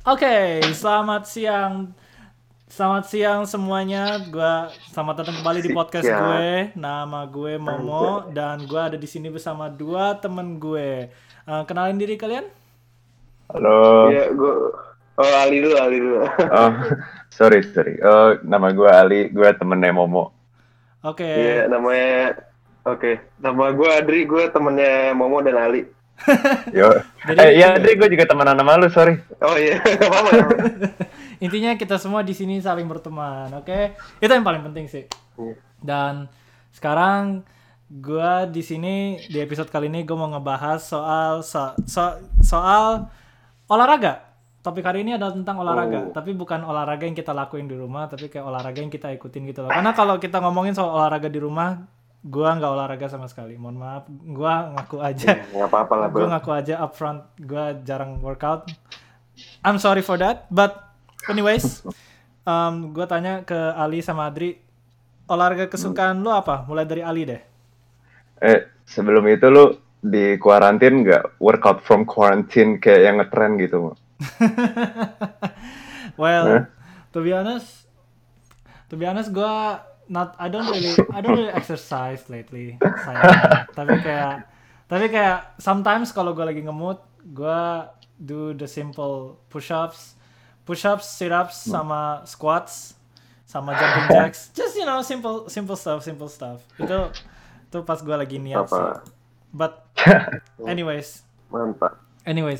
Oke, selamat siang. Selamat siang semuanya. Selamat datang kembali di podcast gue. Nama gue Momo dan gue ada di sini bersama dua temen gue. Kenalin diri kalian? Halo. Iya, gue. Oh, Ali dulu. Oh, sorry. Nama gue Ali, gue temennya Momo. Oke. Iya, nama gue Adri, gue temennya Momo dan Ali. Yo. Iya Adri, gue juga temenan sama lu, sorry. Oh iya, apa? Intinya kita semua di sini saling berteman, oke? Itu yang paling penting sih. Dan sekarang gue di sini di episode kali ini gue mau ngebahas soal olahraga. Topik hari ini adalah tentang olahraga, tapi bukan olahraga yang kita lakuin di rumah, tapi kayak olahraga yang kita ikutin gitu loh. Karena kalau kita ngomongin soal olahraga di rumah, gue nggak olahraga sama sekali. Mohon maaf, gue ngaku aja. Nggak apa-apa lah, bro. Gue ngaku aja upfront, gue jarang workout. I'm sorry for that, but anyways, gue tanya ke Ali sama Adri, olahraga kesukaan lu apa? Mulai dari Ali deh. Sebelum itu lu di kuarantin nggak workout from quarantine kayak yang ngetren gitu? Well, to be honest, I don't really exercise lately. Sayang. Tapi kayak sometimes kalau gue lagi nge-mood, gue do the simple push-ups, sit-ups, sama squats, sama jumping jacks. Just simple stuff. Itu pas gue lagi niat sih. But anyways. Mantap. Anyways.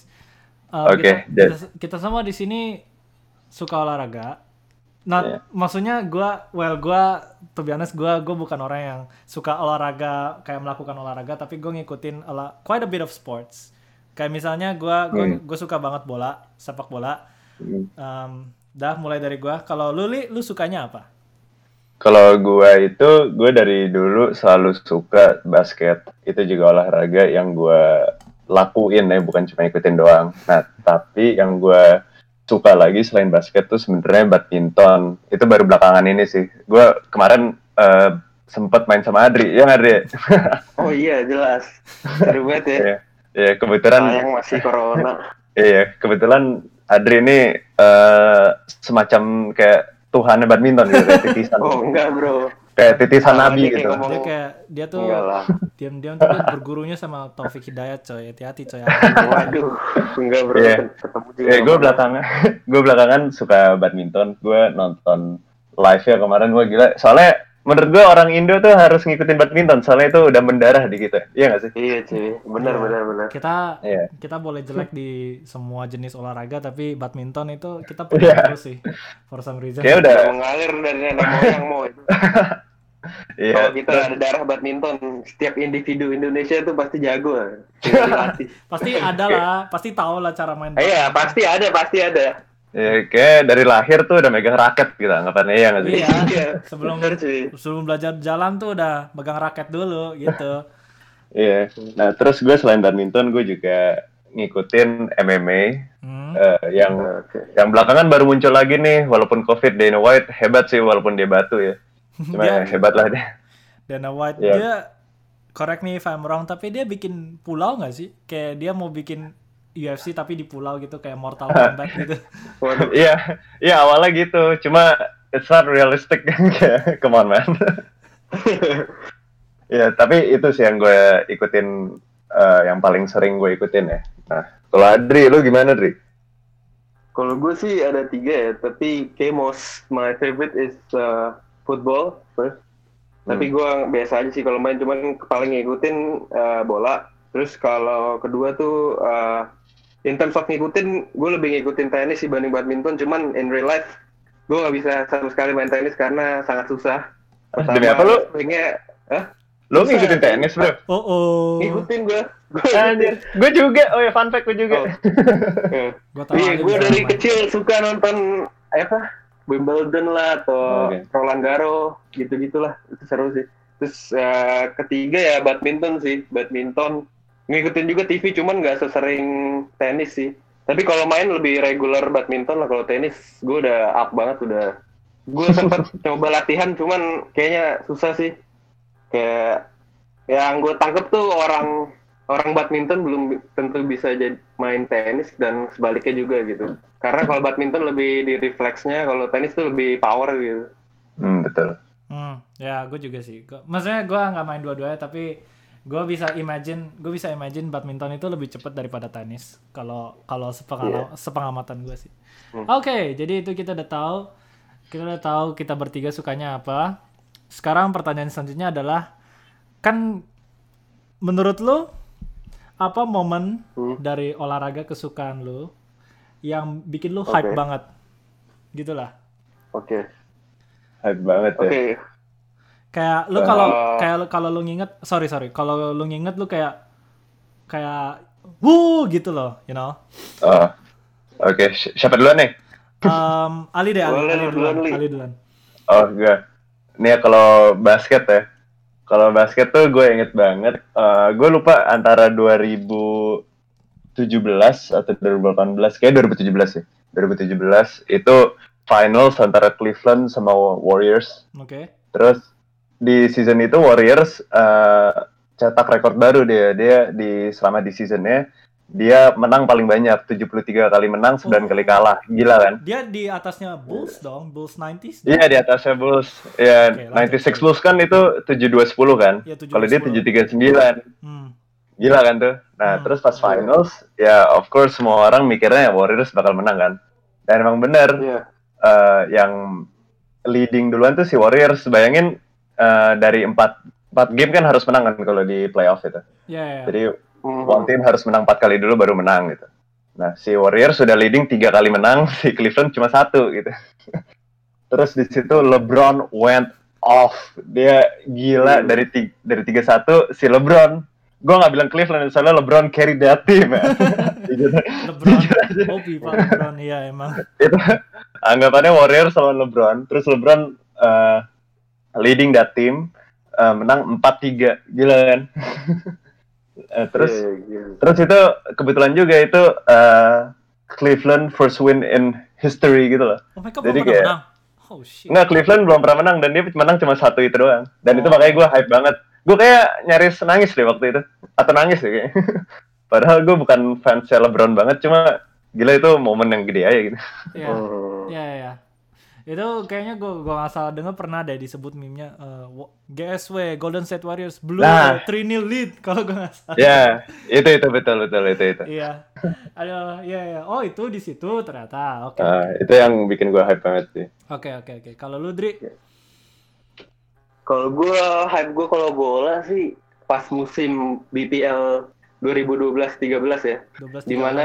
Oke. Kita semua di sini suka olahraga. Maksudnya gue to be honest, gue bukan orang yang suka olahraga kayak melakukan olahraga, tapi gue ngikutin quite a bit of sports. Kayak misalnya gue suka banget sepak bola. Mulai dari gue. Kalau lu sukanya apa? Kalau gue dari dulu selalu suka basket. Itu juga olahraga yang gue lakuin ya, bukan cuma ikutin doang. Nah, tapi yang gue suka lagi selain basket tuh sebenarnya badminton. Itu baru belakangan ini sih. Gue kemarin sempet main sama Adri, ya Adri? Oh iya, jelas. Seru banget ya. Iya, kebetulan. Sayang masih corona. Iya, kebetulan Adri ini semacam kayak Tuhannya badminton gitu, kayak titisan. Oh enggak, bro. Kayak titisan Nabi gitu. Dia tuh diam-diam tuh dia bergurunya sama Taufik Hidayat, coy. Hati-hati, coy. Waduh, enggak, bro. Ketemu juga. Gue belakangan suka badminton. Gue nonton live-nya kemarin, gue gila. Soalnya menurut gue orang Indo tuh harus ngikutin badminton, soalnya itu udah mendarah di kita. Iya nggak sih? Iya, cuy. Benar. Kita boleh jelek di semua jenis olahraga, tapi badminton itu kita punya terus sih. For some reason. Kayak udah mengalir dari nenek moyang mau itu. Kalau kita ada darah badminton, setiap individu Indonesia tuh pasti jago lah. Pasti ada lah, pasti tahu lah cara main. Iya, pasti ada. Ya, kayak dari lahir tuh udah megang raket gitu, anggapannya ya nggak sih? Iya. Sebelum belajar jalan tuh udah megang raket dulu gitu. Iya. Nah terus gue selain badminton gue juga ngikutin MMA yang belakangan baru muncul lagi nih, walaupun COVID. Dana White hebat sih walaupun dia batu ya. Cuma hebat lah dia. Dana White dia, correct me if I'm wrong, tapi dia bikin pulau nggak sih? Kayak dia mau bikin UFC tapi di pulau gitu, kayak Mortal Kombat gitu. Iya awalnya gitu, cuma it's not realistic. Come on man. Ya tapi itu sih yang gue ikutin, yang paling sering gue ikutin ya. Nah kalau Adri, lu gimana Adri? Kalau gue sih ada 3 ya, tapi kayak my favorite is football first. Tapi gue biasa aja sih kalau main, cuman paling ngikutin bola. Terus kalau kedua tuh in terms of ngikutin, gue lebih ngikutin tenis dibanding badminton. Cuman in real life gue nggak bisa sama sekali main tenis karena sangat susah. Demi apa lu? Lu ngikutin tenis bro? Ngikutin gue. Gue juga. Oh ya, fun fact gue juga. Gue dari kecil suka nonton Wimbledon lah atau Roland Garros gitu-gitulah. Itu seru sih. Terus ketiga ya badminton sih. Ngikutin juga TV, cuman nggak sesering tenis sih. Tapi kalau main lebih regular badminton lah. Kalau tenis gue udah up banget, gue sempat coba latihan, cuman kayaknya susah sih. Kayak yang gue tangkep tuh orang orang badminton belum tentu bisa jadi main tenis dan sebaliknya juga gitu. Karena kalau badminton lebih di refleksnya, kalau tenis tuh lebih power gitu. Betul. Ya gue juga sih. Maksudnya gue nggak main dua-duanya, tapi gue bisa imagine badminton itu lebih cepat daripada tenis. Kalau sepengamatan gue sih. Oke, jadi itu kita udah tahu kita bertiga sukanya apa. Sekarang pertanyaan selanjutnya adalah, kan menurut lo apa momen dari olahraga kesukaan lo yang bikin lo hype banget? Gitulah. Oke. Hype banget ya. Kayak lu kalau lu nginget, kalau lu nginget lu kayak gitu loh, you know. Oke. Siapa duluan nih? Ali duluan. Oh enggak. Nih kalau basket ya. Kalau basket tuh gue inget banget. Gue lupa antara 2017 atau 2018. Kayak 2017 ya. 2017 itu finals antara Cleveland sama Warriors. Oke. Terus di season itu Warriors cetak rekor baru dia selama di seasonnya dia menang paling banyak, 73 kali menang, 9 kali kalah. Gila kan? Dia di atasnya Bulls dong, Bulls 90s. Iya, di atasnya Bulls. Ya, 96 Bulls kan itu 72-10 kan? Ya, kalau dia 739. Gila kan tuh? Nah, terus pas finals, ya of course semua orang mikirnya Warriors bakal menang kan? Dan emang bener, yang leading duluan tuh si Warriors. Bayangin dari 4 game kan harus menang kan kalau di playoff itu. Jadi one team harus menang 4 kali dulu baru menang gitu. Nah, si Warriors sudah leading 3 kali menang, si Cleveland cuma 1 gitu. Terus di situ LeBron went off. Dia gila dari 3-1 si LeBron. Gue nggak bilang Cleveland, soalnya LeBron carry that team ya. LeBron, iya emang. Itu anggapannya Warriors sama LeBron. Terus LeBron leading that team, menang 4-3. Gila kan? Terus itu kebetulan juga itu Cleveland first win in history gitu loh. Jadi kayak menang. Nggak, Cleveland belum pernah menang dan dia menang cuma 1 itu doang. Dan itu makanya gue hype banget. Gue kayak nyaris nangis deh waktu itu. Atau nangis deh kayaknya. Padahal gue bukan fans LeBron banget, cuma gila itu momen yang gede aja gitu. Iya. Itu kayaknya gue nggak salah dengar pernah deh disebut meme-nya GSW Golden State Warriors Blue 3-0 lead kalau gue nggak salah. Ya, itu betul itu. Iya. Aduh, iya. Oh, itu di situ ternyata. Oke. Itu yang bikin gue hype banget sih. Oke. Kalau lu, Dri? Kalau gue hype kalau bola sih pas musim BPL 2012-13 ya. 12-13. Dimana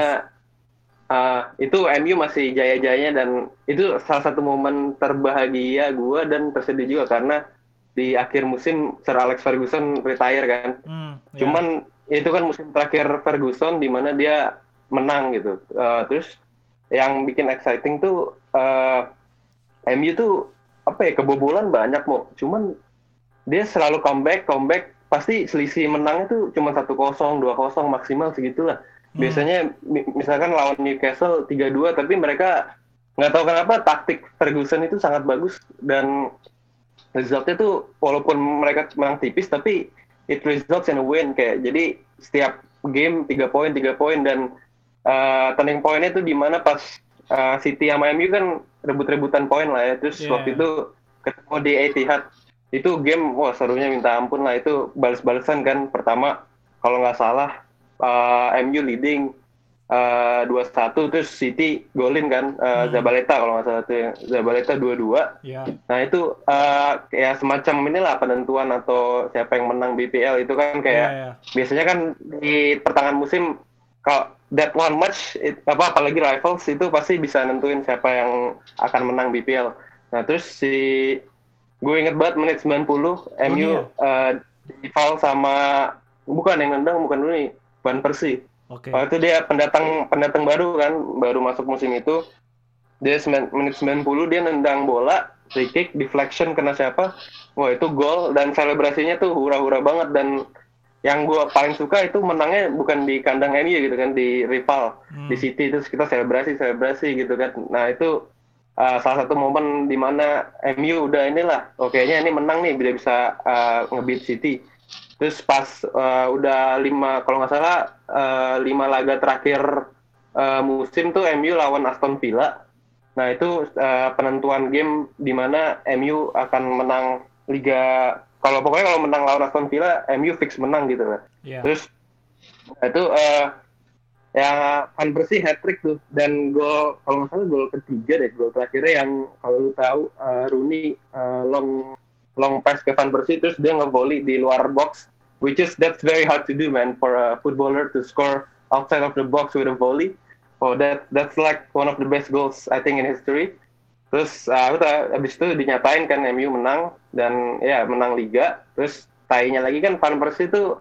itu MU masih jaya-jayanya dan itu salah satu momen terbahagia gue dan tersedih juga karena di akhir musim Sir Alex Ferguson retire kan. Cuman itu kan musim terakhir Ferguson di mana dia menang gitu. Terus yang bikin exciting tuh MU tuh kebobolan banyak mau. Cuman dia selalu comeback pasti selisih menangnya tuh cuma 1-0, 2-0 maksimal segitulah. Biasanya misalkan lawan Newcastle 3-2 tapi mereka nggak tahu kenapa taktik Ferguson itu sangat bagus dan resultnya tuh walaupun mereka menang tipis tapi it results in a win kayak jadi setiap game 3 poin dan turning pointnya tuh di mana pas City sama MU kan rebut-rebutan poin lah ya terus waktu itu ketemu di Etihad itu game serunya minta ampun lah itu balas-balasan kan pertama kalau nggak salah MU leading 2-1 terus City golin kan Zabaleta kalau nggak salah tuh Zabaleta 2-2. Nah itu kayak semacam inilah penentuan atau siapa yang menang BPL itu kan kayak biasanya kan di pertengahan musim kalau that one match apalagi rivals itu pasti bisa nentuin siapa yang akan menang BPL. Nah terus gue inget banget menit 90 MU di foul sama bukan yang nendang bukan dulu nih Van Persie. Waktu itu dia pendatang baru kan, baru masuk musim itu. Dia menit 90 dia nendang bola, free kick, deflection kena siapa? Wah itu gol dan selebrasinya tuh hura-hura banget dan yang gue paling suka itu menangnya bukan di kandang MU gitu kan, di rival di City terus kita selebrasi gitu kan. Nah itu salah satu momen di mana MU udah inilah, kayaknya ini menang nih, bisa nge-beat City. Terus pas udah 5 kalau nggak salah 5 laga terakhir musim tuh MU lawan Aston Villa. Nah itu penentuan game di mana MU akan menang Liga. Pokoknya kalau menang lawan Aston Villa, MU fix menang gitu kan. Yeah. Terus itu ya Van Persie hat-trick tuh, dan gol kalau nggak salah gol ketiga deh, gol terakhirnya yang kalau lu tahu Rooney long pass ke Van Persie terus dia nge-volley di luar box, which is that's very hard to do man for a footballer to score outside of the box with a volley. Oh that's like one of the best goals I think in history. Terus abis itu dinyatain kan MU menang dan ya menang Liga. Terus tainya lagi kan Van Persie tuh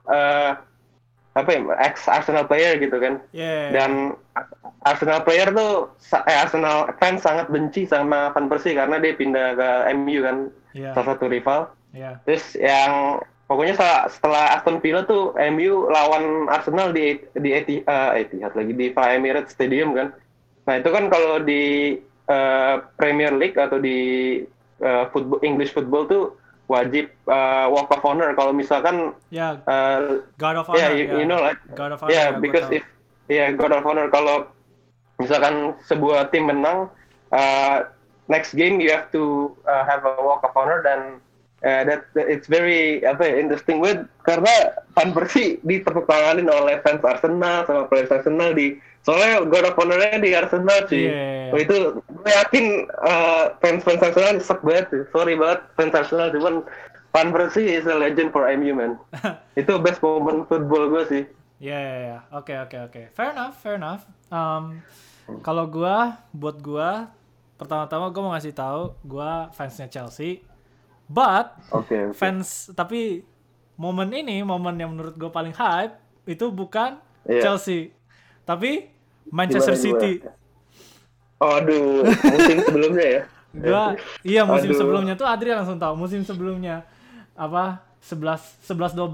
ex Arsenal player gitu kan. Yeah. Dan Arsenal player tuh Arsenal fans sangat benci sama Van Persie karena dia pindah ke MU kan. Yeah. Salah satu rival. Yeah. Terus yang pokoknya setelah Aston Villa tuh MU lawan Arsenal di Etihad lagi di Emirates Stadium kan. Nah itu kan kalau di Premier League atau di English football tuh wajib walk of honor kalau misalkan God of honor. Yeah, you know like God of honor. Yeah, because God of honor kalau misalkan sebuah tim menang next game you have to have a walk of honor, dan that it's very interesting karena Van Persie ditepuk tanganin oleh fans Arsenal sama players Arsenal soalnya God of Honor-nya di Arsenal sih. Yeah. Itu gue yakin fans Arsenal nyesek banget sih. Sorry banget fans Arsenal, cuman Van Persie is a legend for MU man. Itu best moment football gue sih. Yeah. Oke. Fair enough. Kalau buat gue pertama-tama gue mau ngasih tahu gue fansnya Chelsea. But okay. Fans, tapi momen yang menurut gue paling hype itu bukan Chelsea, tapi Manchester City. Aduh, musim sebelumnya ya? Musim sebelumnya tuh Adri langsung tahu. Musim sebelumnya 2011-2012.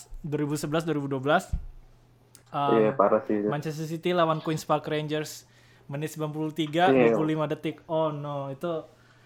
Iya, parah sih. Manchester City lawan Queen's Park Rangers menit 93, 25 detik. Oh no, itu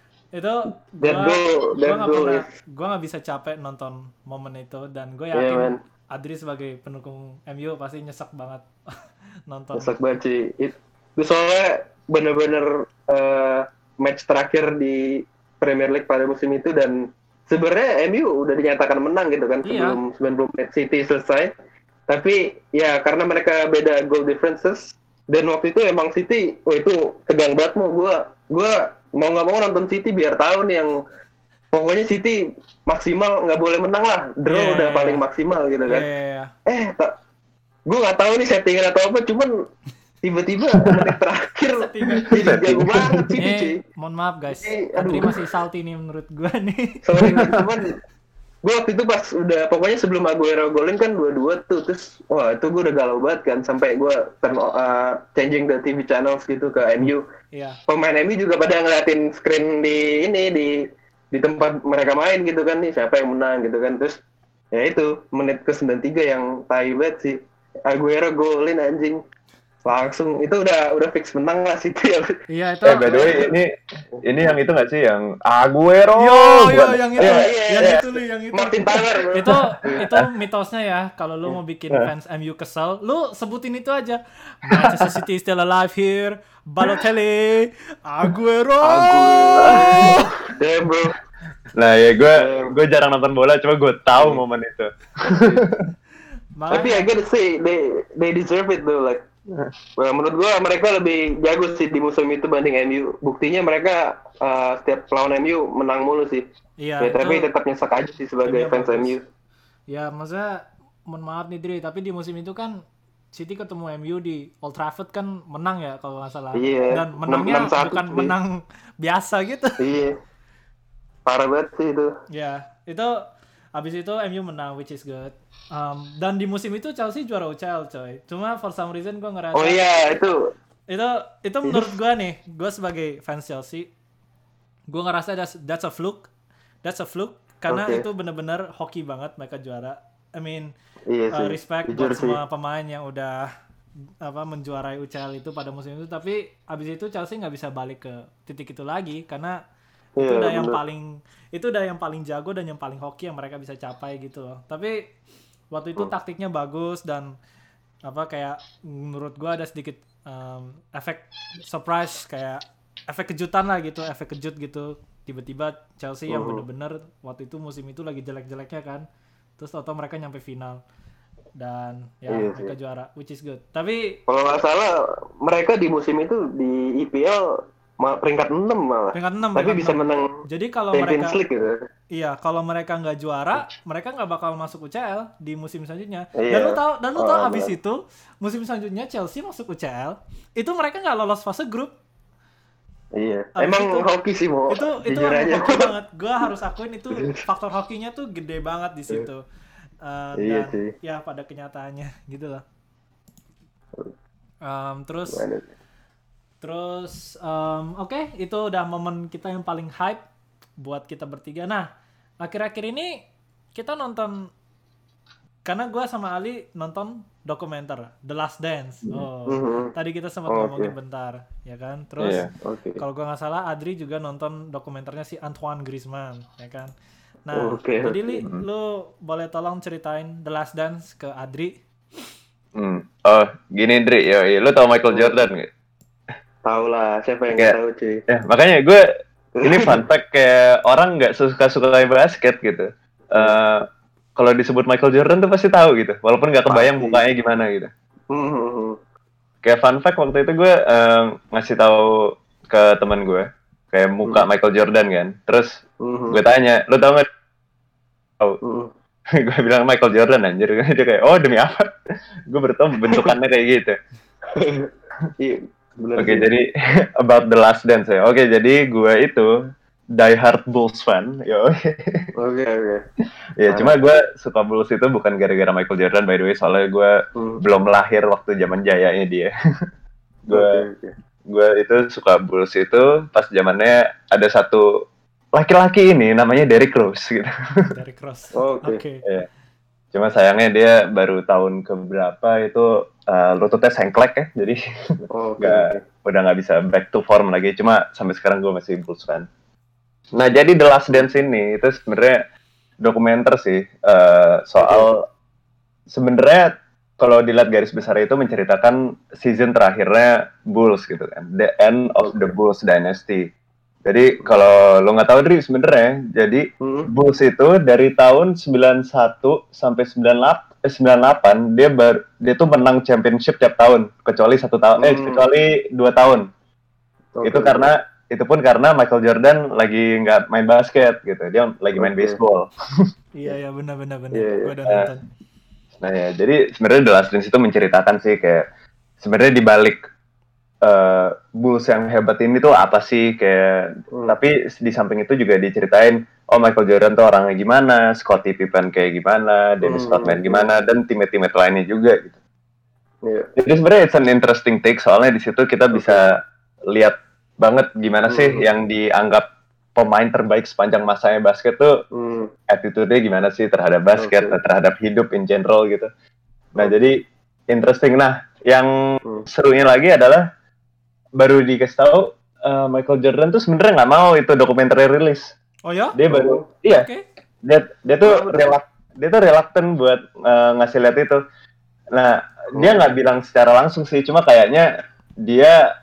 gue nggak bisa capek nonton momen itu, dan gue yakin Adri sebagai pendukung MU pasti nyesek banget nonton. Nyesek banget sih. Itu soalnya bener-bener match terakhir di Premier League pada musim itu, dan sebenarnya MU udah dinyatakan menang gitu kan sebelum 90 menit City selesai. Tapi ya karena mereka beda goal differences, dan waktu itu emang City, itu tegang banget gue mau nggak mau nonton City biar tahu nih yang pokoknya City maksimal nggak boleh menang lah, draw udah paling maksimal gitu kan. Gue nggak tahu nih settingan atau apa, cuman tiba-tiba menit terakhir jadi jago banget City cuy. Mohon maaf guys, Adri masih salty nih menurut gue nih. Sorry cuman gue waktu itu pas udah pokoknya sebelum Aguero golin kan 2-2 tuh, terus itu gue udah galau banget kan, sampai gue changing the TV channels gitu ke MU. Pemain MU juga pada ngeliatin screen di tempat mereka main gitu kan, nih siapa yang menang gitu kan. Terus ya itu menit ke 93 yang tai banget sih, Aguero golin anjing, langsung itu udah fix menang lah City. Iya itu. By the way ini yang itu nggak sih yang Aguero? Yang itu Martin Tyler. itu mitosnya ya. Kalau lu mau bikin fans MU kesel, lu sebutin itu aja. Manchester City still alive here. Balotelli, Aguero. Damn bro. Nah ya gue jarang nonton bola, cuma gue tahu momen itu. Tapi I gotta say they deserve it though, like. Menurut gue mereka lebih jago sih di musim itu banding MU. Buktinya mereka setiap lawan MU menang mulu sih. Iya. Tapi tetap nyesek aja sih sebagai fans MU. Ya maksudnya mohon maaf nih Dri, tapi di musim itu kan City ketemu MU di Old Trafford kan menang ya kalau nggak salah. Iya. Dan menangnya 6-1, bukan menang biasa gitu. Iya. Parah banget sih itu. Ya itu abis itu MU menang, which is good. Dan di musim itu Chelsea juara UCL coy. Cuma for some reason gue ngerasa. Oh iya itu menurut gue nih, gue sebagai fans Chelsea, gue ngerasa that's a fluke karena itu benar-benar hoki banget mereka juara. I mean respect buat semua pemain yang udah menjuarai UCL itu pada musim itu. Tapi abis itu Chelsea nggak bisa balik ke titik itu lagi karena itu udah yang paling jago dan yang paling hoki yang mereka bisa capai gitu loh. Tapi waktu itu taktiknya bagus dan apa kayak menurut gue ada sedikit efek surprise, kayak efek kejutan lah gitu, efek kejut gitu. Tiba-tiba Chelsea yang bener-bener waktu itu musim itu lagi jelek-jeleknya kan, terus tau-tau mereka nyampe final dan ya mereka juara, which is good. Tapi kalau nggak salah mereka di musim itu di IPL peringkat 6 malah. Peringkat 6. Tapi bisa 6. Menang. Jadi kalau Champions mereka League gitu. Iya, kalau mereka nggak juara, mereka nggak bakal masuk UCL di musim selanjutnya. Iya. Dan lu tahu abis itu musim selanjutnya Chelsea masuk UCL, itu mereka nggak lolos fase grup. Iya. Abis emang itu, hoki sih mau. Itu hoki banget. Gua harus akuin itu faktor hokinya tuh gede banget di situ. Iya dan sih. ya pada kenyataannya gitu lah. Terus oke, itu udah momen kita yang paling hype buat kita bertiga. Nah, akhir-akhir ini kita nonton, karena gue sama Ali nonton dokumenter The Last Dance. Tadi kita sempat ngomongin bentar, ya kan? Terus kalau gue nggak salah, Adri juga nonton dokumenternya si Antoine Griezmann, ya kan? Nah, jadi Li, lu boleh tolong ceritain The Last Dance ke Adri? Oh, gini Dri, lu tau Michael Jordan nggak? Tahu lah, siapa yang nggak tahu cuy. Ya, makanya gue ini fun fact, kayak orang nggak suka basket gitu. Kalau disebut Michael Jordan tuh pasti tahu gitu, walaupun nggak kebayang mukanya gimana gitu. Kayak fun fact, waktu itu gue ngasih tahu ke teman gue kayak muka Michael Jordan kan, terus gue tanya, lo tau nggak? Gue bilang Michael Jordan anjir, dia kayak demi apa? Gue bertemu bentukannya kayak gitu. Oke, jadi about The Last Dance ya. Oke, jadi gue itu diehard Bulls fan. Oke. Ya, cuma gue suka Bulls itu bukan gara-gara Michael Jordan, by the way, soalnya gue belum lahir waktu zaman jayanya dia. Gue itu suka Bulls itu pas zamannya ada satu laki-laki ini namanya Derrick Rose gitu. Derrick Rose. Oke. Ya. Cuma sayangnya dia baru tahun keberapa itu lututnya sengklek ya, jadi udah nggak bisa back to form lagi. Cuma sampai sekarang gue masih Bulls fan. Nah, jadi The Last Dance ini itu sebenarnya dokumenter sih, soal sebenarnya kalau dilihat garis besar itu menceritakan season terakhirnya Bulls gitu kan, the end of the Bulls dynasty. Jadi kalau lo nggak tahu Dri, sebenarnya jadi Bulls itu dari tahun 91 sampai 98 dia tuh menang championship tiap tahun kecuali kecuali 2 tahun. Itu pun karena Michael Jordan lagi nggak main basket gitu, dia lagi main baseball. Iya benar. Gue udah nonton. Nah ya, jadi sebenarnya The Last Dance itu menceritakan sih kayak sebenarnya di balik Bulls yang hebat ini tuh apa sih kayak, tapi di samping itu juga diceritain Michael Jordan tuh orangnya gimana, Scottie Pippen kayak gimana, Dennis Rodman gimana, dan teammate lainnya juga gitu. Jadi sebenarnya it's an interesting take, soalnya di situ kita bisa lihat banget gimana sih yang dianggap pemain terbaik sepanjang masanya basket tuh attitude-nya gimana sih terhadap basket, terhadap hidup in general gitu. Nah jadi interesting. Nah yang serunya lagi adalah baru dikasih tahu Michael Jordan tuh sebenarnya nggak mau itu dokumenter rilis. Oh ya? Dia baru dia tuh reluctant buat ngasih lihat itu. Nah dia nggak bilang secara langsung sih, cuma kayaknya dia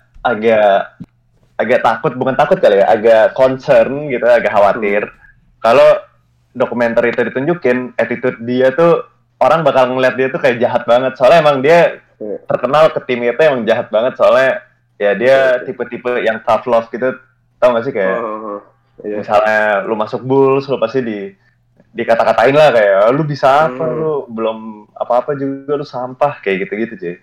agak takut, bukan takut kali ya, agak concern gitu, agak khawatir kalau dokumenter itu ditunjukin attitude dia tuh orang bakal ngeliat dia tuh kayak jahat banget, soalnya emang dia terkenal ke tim itu emang jahat banget, soalnya ya dia tipe-tipe yang tough love gitu, tau gak sih kayak misalnya lu masuk Bulls lu pasti dikata-katain lah kayak lu bisa apa, lu belum apa-apa juga, lu sampah kayak gitu-gitu cuy.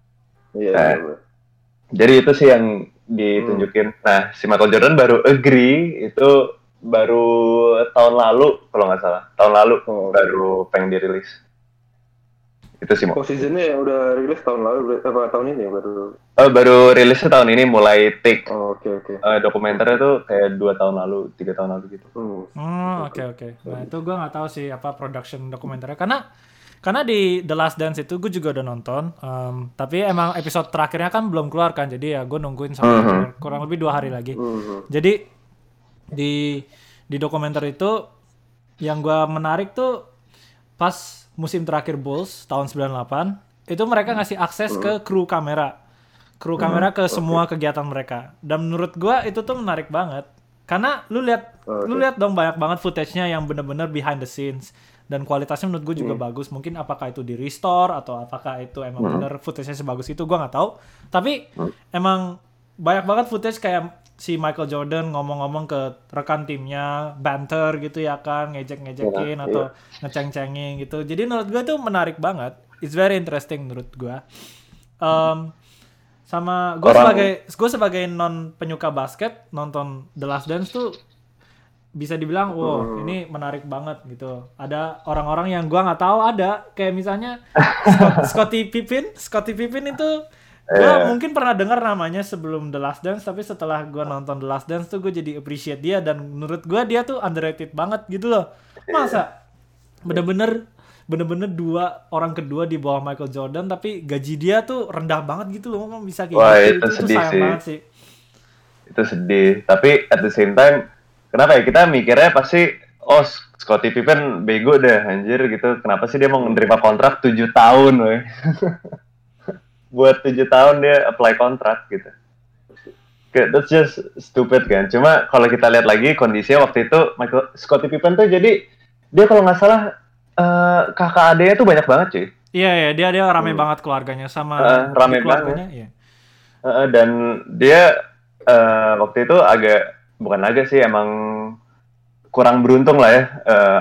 Jadi itu sih yang ditunjukin. Nah si Michael Jordan baru agree itu baru tahun lalu kalau nggak salah, baru pengen dirilis. Itu sih. Seasonnya udah rilis tahun lalu, tahun ini baru? Baru rilisnya tahun ini, mulai take. Oke. Dokumenternya tuh kayak 2 tahun lalu, 3 tahun lalu gitu. Oke. Nah itu gue nggak tahu sih apa production dokumenternya, karena di The Last Dance itu gue juga udah nonton, tapi emang episode terakhirnya kan belum keluar kan, jadi ya gue nungguin sampai kurang lebih 2 hari lagi. Jadi di dokumenter itu yang gue menarik tuh pas musim terakhir Bulls tahun 98 itu mereka ngasih akses ke kru kamera ke semua kegiatan mereka. Dan menurut gua itu tuh menarik banget. Karena lu lihat dong banyak banget footage-nya yang bener-bener behind the scenes dan kualitasnya menurut gue juga bagus. Mungkin apakah itu di restore atau apakah itu emang bener footage-nya sebagus itu, gua nggak tahu. Tapi emang banyak banget footage kayak si Michael Jordan ngomong-ngomong ke rekan timnya, banter gitu ya kan, ngejek-ngejekin atau ngeceng-cengin gitu. Jadi menurut gue tuh menarik banget. It's very interesting menurut gue. Sama gue sebagai non penyuka basket, nonton The Last Dance tuh bisa dibilang ini menarik banget gitu. Ada orang-orang yang gue nggak tahu ada, kayak misalnya Scottie Pippen itu gue mungkin pernah dengar namanya sebelum The Last Dance, tapi setelah gue nonton The Last Dance tuh gue jadi appreciate dia, dan menurut gue dia tuh underrated banget gitu loh. Masa bener-bener dua orang kedua di bawah Michael Jordan, tapi gaji dia tuh rendah banget gitu loh, bisa kayak wah, gitu. Itu sedih sayang sih. Banget sih. Itu sedih, tapi at the same time kenapa ya kita mikirnya pasti Scottie Pippen bego deh anjir gitu, kenapa sih dia mau menerima kontrak 7 tahun weh. Buat 7 tahun dia apply kontrak gitu. That's just stupid kan. Cuma kalau kita lihat lagi kondisinya waktu itu Scottie Pippen tuh jadi dia kalau nggak salah kakak adeknya tuh banyak banget cuy. Iya dia rame banget keluarganya sama rame keluarganya. Banget. Iya. Dan dia waktu itu bukan sih emang kurang beruntung lah ya,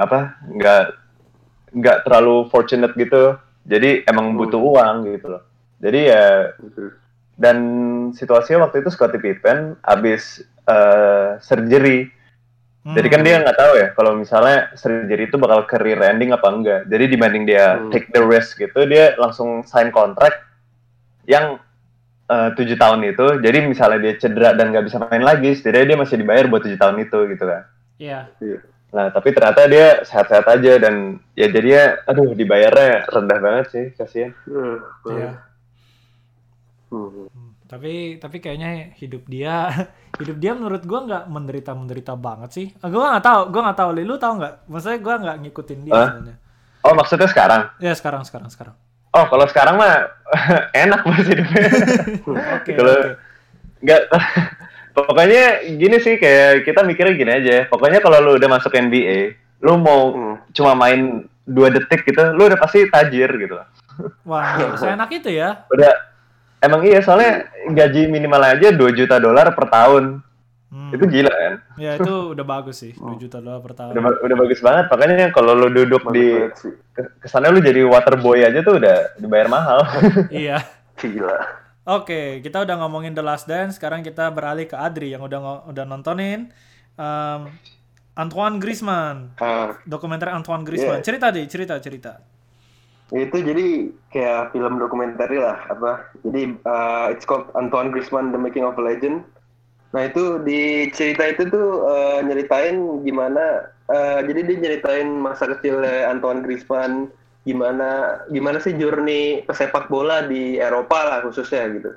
nggak terlalu fortunate gitu. Jadi emang butuh uang gitu loh. Jadi ya, dan situasinya waktu itu Scottie Pippen abis surgery. Jadi kan dia nggak tahu ya kalau misalnya surgery itu bakal career ending apa enggak. Jadi dibanding dia take the risk gitu, dia langsung sign kontrak yang 7 tahun itu. Jadi misalnya dia cedera dan nggak bisa main lagi, setidaknya dia masih dibayar buat 7 tahun itu gitu kan. Iya. Nah tapi ternyata dia sehat-sehat aja dan ya jadinya dibayarnya rendah banget sih, kasihan. Iya. Tapi kayaknya hidup dia menurut gue nggak menderita banget sih. Gue nggak tahu. Lu tahu nggak? Maksudnya gue nggak ngikutin dia sebenarnya. Oh maksudnya sekarang? Ya sekarang. Oh kalau sekarang mah enak banget hidupnya. Kalau nggak, pokoknya gini sih, kayak kita mikirnya gini aja. Pokoknya kalau lu udah masuk NBA, lu mau cuma main 2 detik gitu, lu udah pasti tajir gitu. Wah, seenak itu ya? Udah. Emang iya, soalnya gaji minimal aja $2 juta per tahun. Itu gila kan? Ya itu udah bagus sih, $2 juta per tahun. Udah bagus banget, makanya kalau lu duduk kesana lu jadi water boy aja tuh udah dibayar mahal. Iya. Gila. Oke, kita udah ngomongin The Last Dance, sekarang kita beralih ke Adri yang udah nontonin Antoine Griezmann. Dokumenter Antoine Griezmann. Yeah. Cerita. Itu jadi kayak film dokumenter lah jadi it's called Antoine Griezmann The Making of a Legend. Nah itu di cerita itu tuh nyeritain gimana jadi dia nyeritain masa kecilnya Antoine Griezmann, gimana sih journey pesepak bola di Eropa lah khususnya gitu.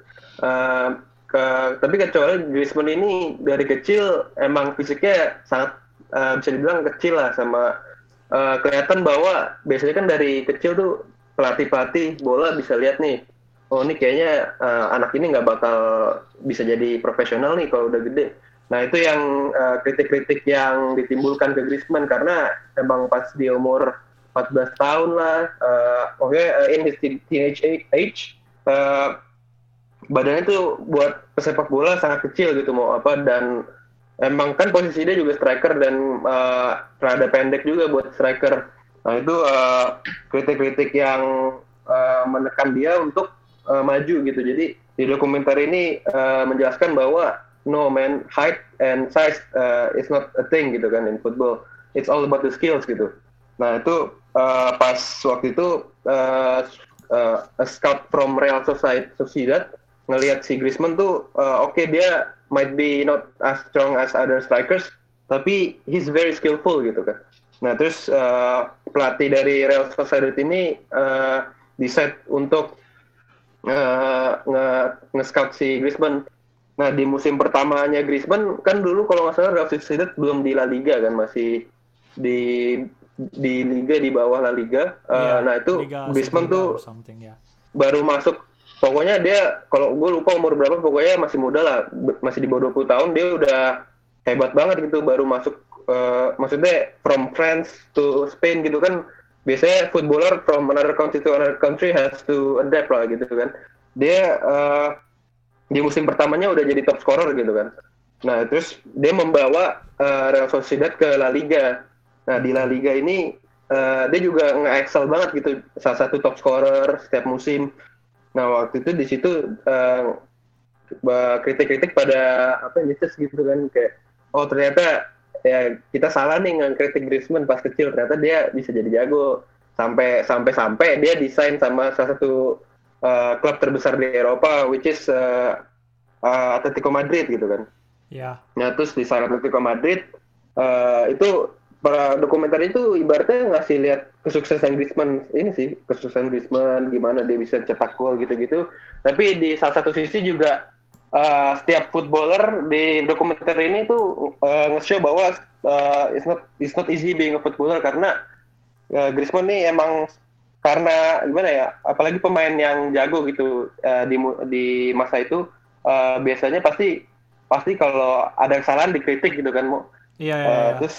Tapi kecuali Griezmann ini dari kecil emang fisiknya sangat bisa dibilang kecil lah, sama kelihatan bahwa biasanya kan dari kecil tuh pelatih bola bisa lihat nih, oh ini kayaknya anak ini nggak bakal bisa jadi profesional nih kalau udah gede. Nah itu yang kritik-kritik yang ditimbulkan ke Griezmann, karena emang pas di umur 14 tahun lah, in his teenage age, badannya tuh buat pesepak bola sangat kecil gitu dan emang kan posisi dia juga striker dan rada pendek juga buat striker. Nah itu kritik-kritik yang menekan dia untuk maju gitu. Jadi di dokumenter ini menjelaskan bahwa no man, height and size is not a thing gitu kan in football. It's all about the skills gitu. Nah itu pas waktu itu a scout from Real Sociedad ngelihat si Griezmann tuh dia might be not as strong as other strikers, tapi he's very skillful gitu kan. Nah terus pelatih dari Real Sociedad ini decide untuk nge-scout si Griezmann. Nah di musim pertamanya Griezmann kan dulu kalau nggak salah Real Sociedad belum di La Liga kan, masih di di liga di bawah La Liga. Nah itu Griezmann tuh baru masuk. Pokoknya dia, kalau gue lupa umur berapa, pokoknya masih muda lah, masih di bawah 20 tahun, dia udah hebat banget gitu, baru masuk, maksudnya from France to Spain gitu kan, biasanya footballer from another country to another country has to adapt lah gitu kan. Dia di musim pertamanya udah jadi top scorer gitu kan. Nah terus dia membawa Real Sociedad ke La Liga. Nah di La Liga ini dia juga nge-excel banget gitu, salah satu top scorer setiap musim. Nah waktu itu di situ kritik-kritik pada Nietzsche gitu kan, kayak ternyata ya kita salah nih ngekritik Griezmann pas kecil, ternyata dia bisa jadi jago sampai dia desain sama salah satu klub terbesar di Eropa, which is Atletico Madrid gitu kan. Iya. Nah terus di Atletico Madrid itu para dokumenter itu ibaratnya ngasih lihat kesuksesan Griezmann ini sih, kesuksesan Griezmann gimana dia bisa cetak gol gitu-gitu. Tapi di salah satu sisi juga setiap footballer di dokumenter ini tuh nge-show bahwa it's not easy being a footballer, karena Griezmann nih emang karena gimana ya, apalagi pemain yang jago gitu di masa itu biasanya pasti kalau ada kesalahan dikritik gitu kan, Mo. Iya. Terus